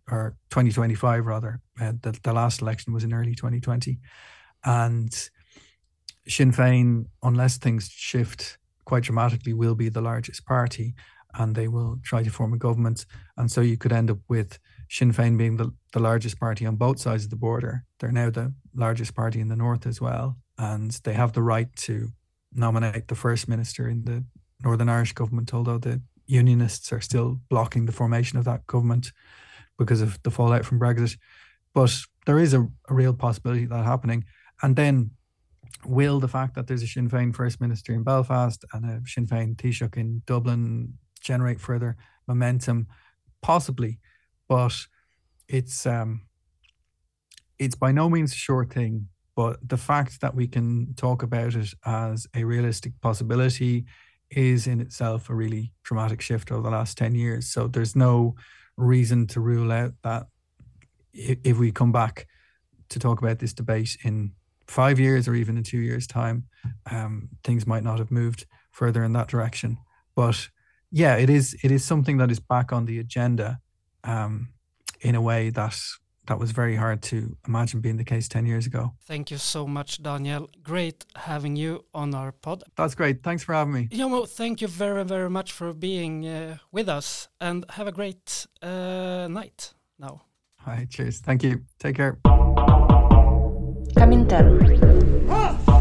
2025 rather. The last election was in early 2020, and Sinn Féin, unless things shift quite dramatically, will be the largest party, and they will try to form a government. And so you could end up with Sinn Féin being the largest party on both sides of the border. They're now the largest party in the north as well, and they have the right to nominate the First Minister in the Northern Irish government, although the Unionists are still blocking the formation of that government because of the fallout from Brexit. But there is a real possibility of that happening. And then will the fact that there's a Sinn Féin First Minister in Belfast and a Sinn Féin Taoiseach in Dublin generate further momentum? Possibly, but it's by no means a sure thing. But the fact that we can talk about it as a realistic possibility is in itself a really dramatic shift over the last 10 years. So there's no reason to rule out that if we come back to talk about this debate in 5 years or even in 2 years' time, things might not have moved further in that direction. But yeah, it is something that is back on the agenda in a way that was very hard to imagine being the case 10 years ago. Thank you so much, Daniel. Great having you on our pod. That's great. Thanks for having me. Jomo, thank you very, very much for being with us, and have a great night now. All right, cheers. Thank you. Take care. Comintern.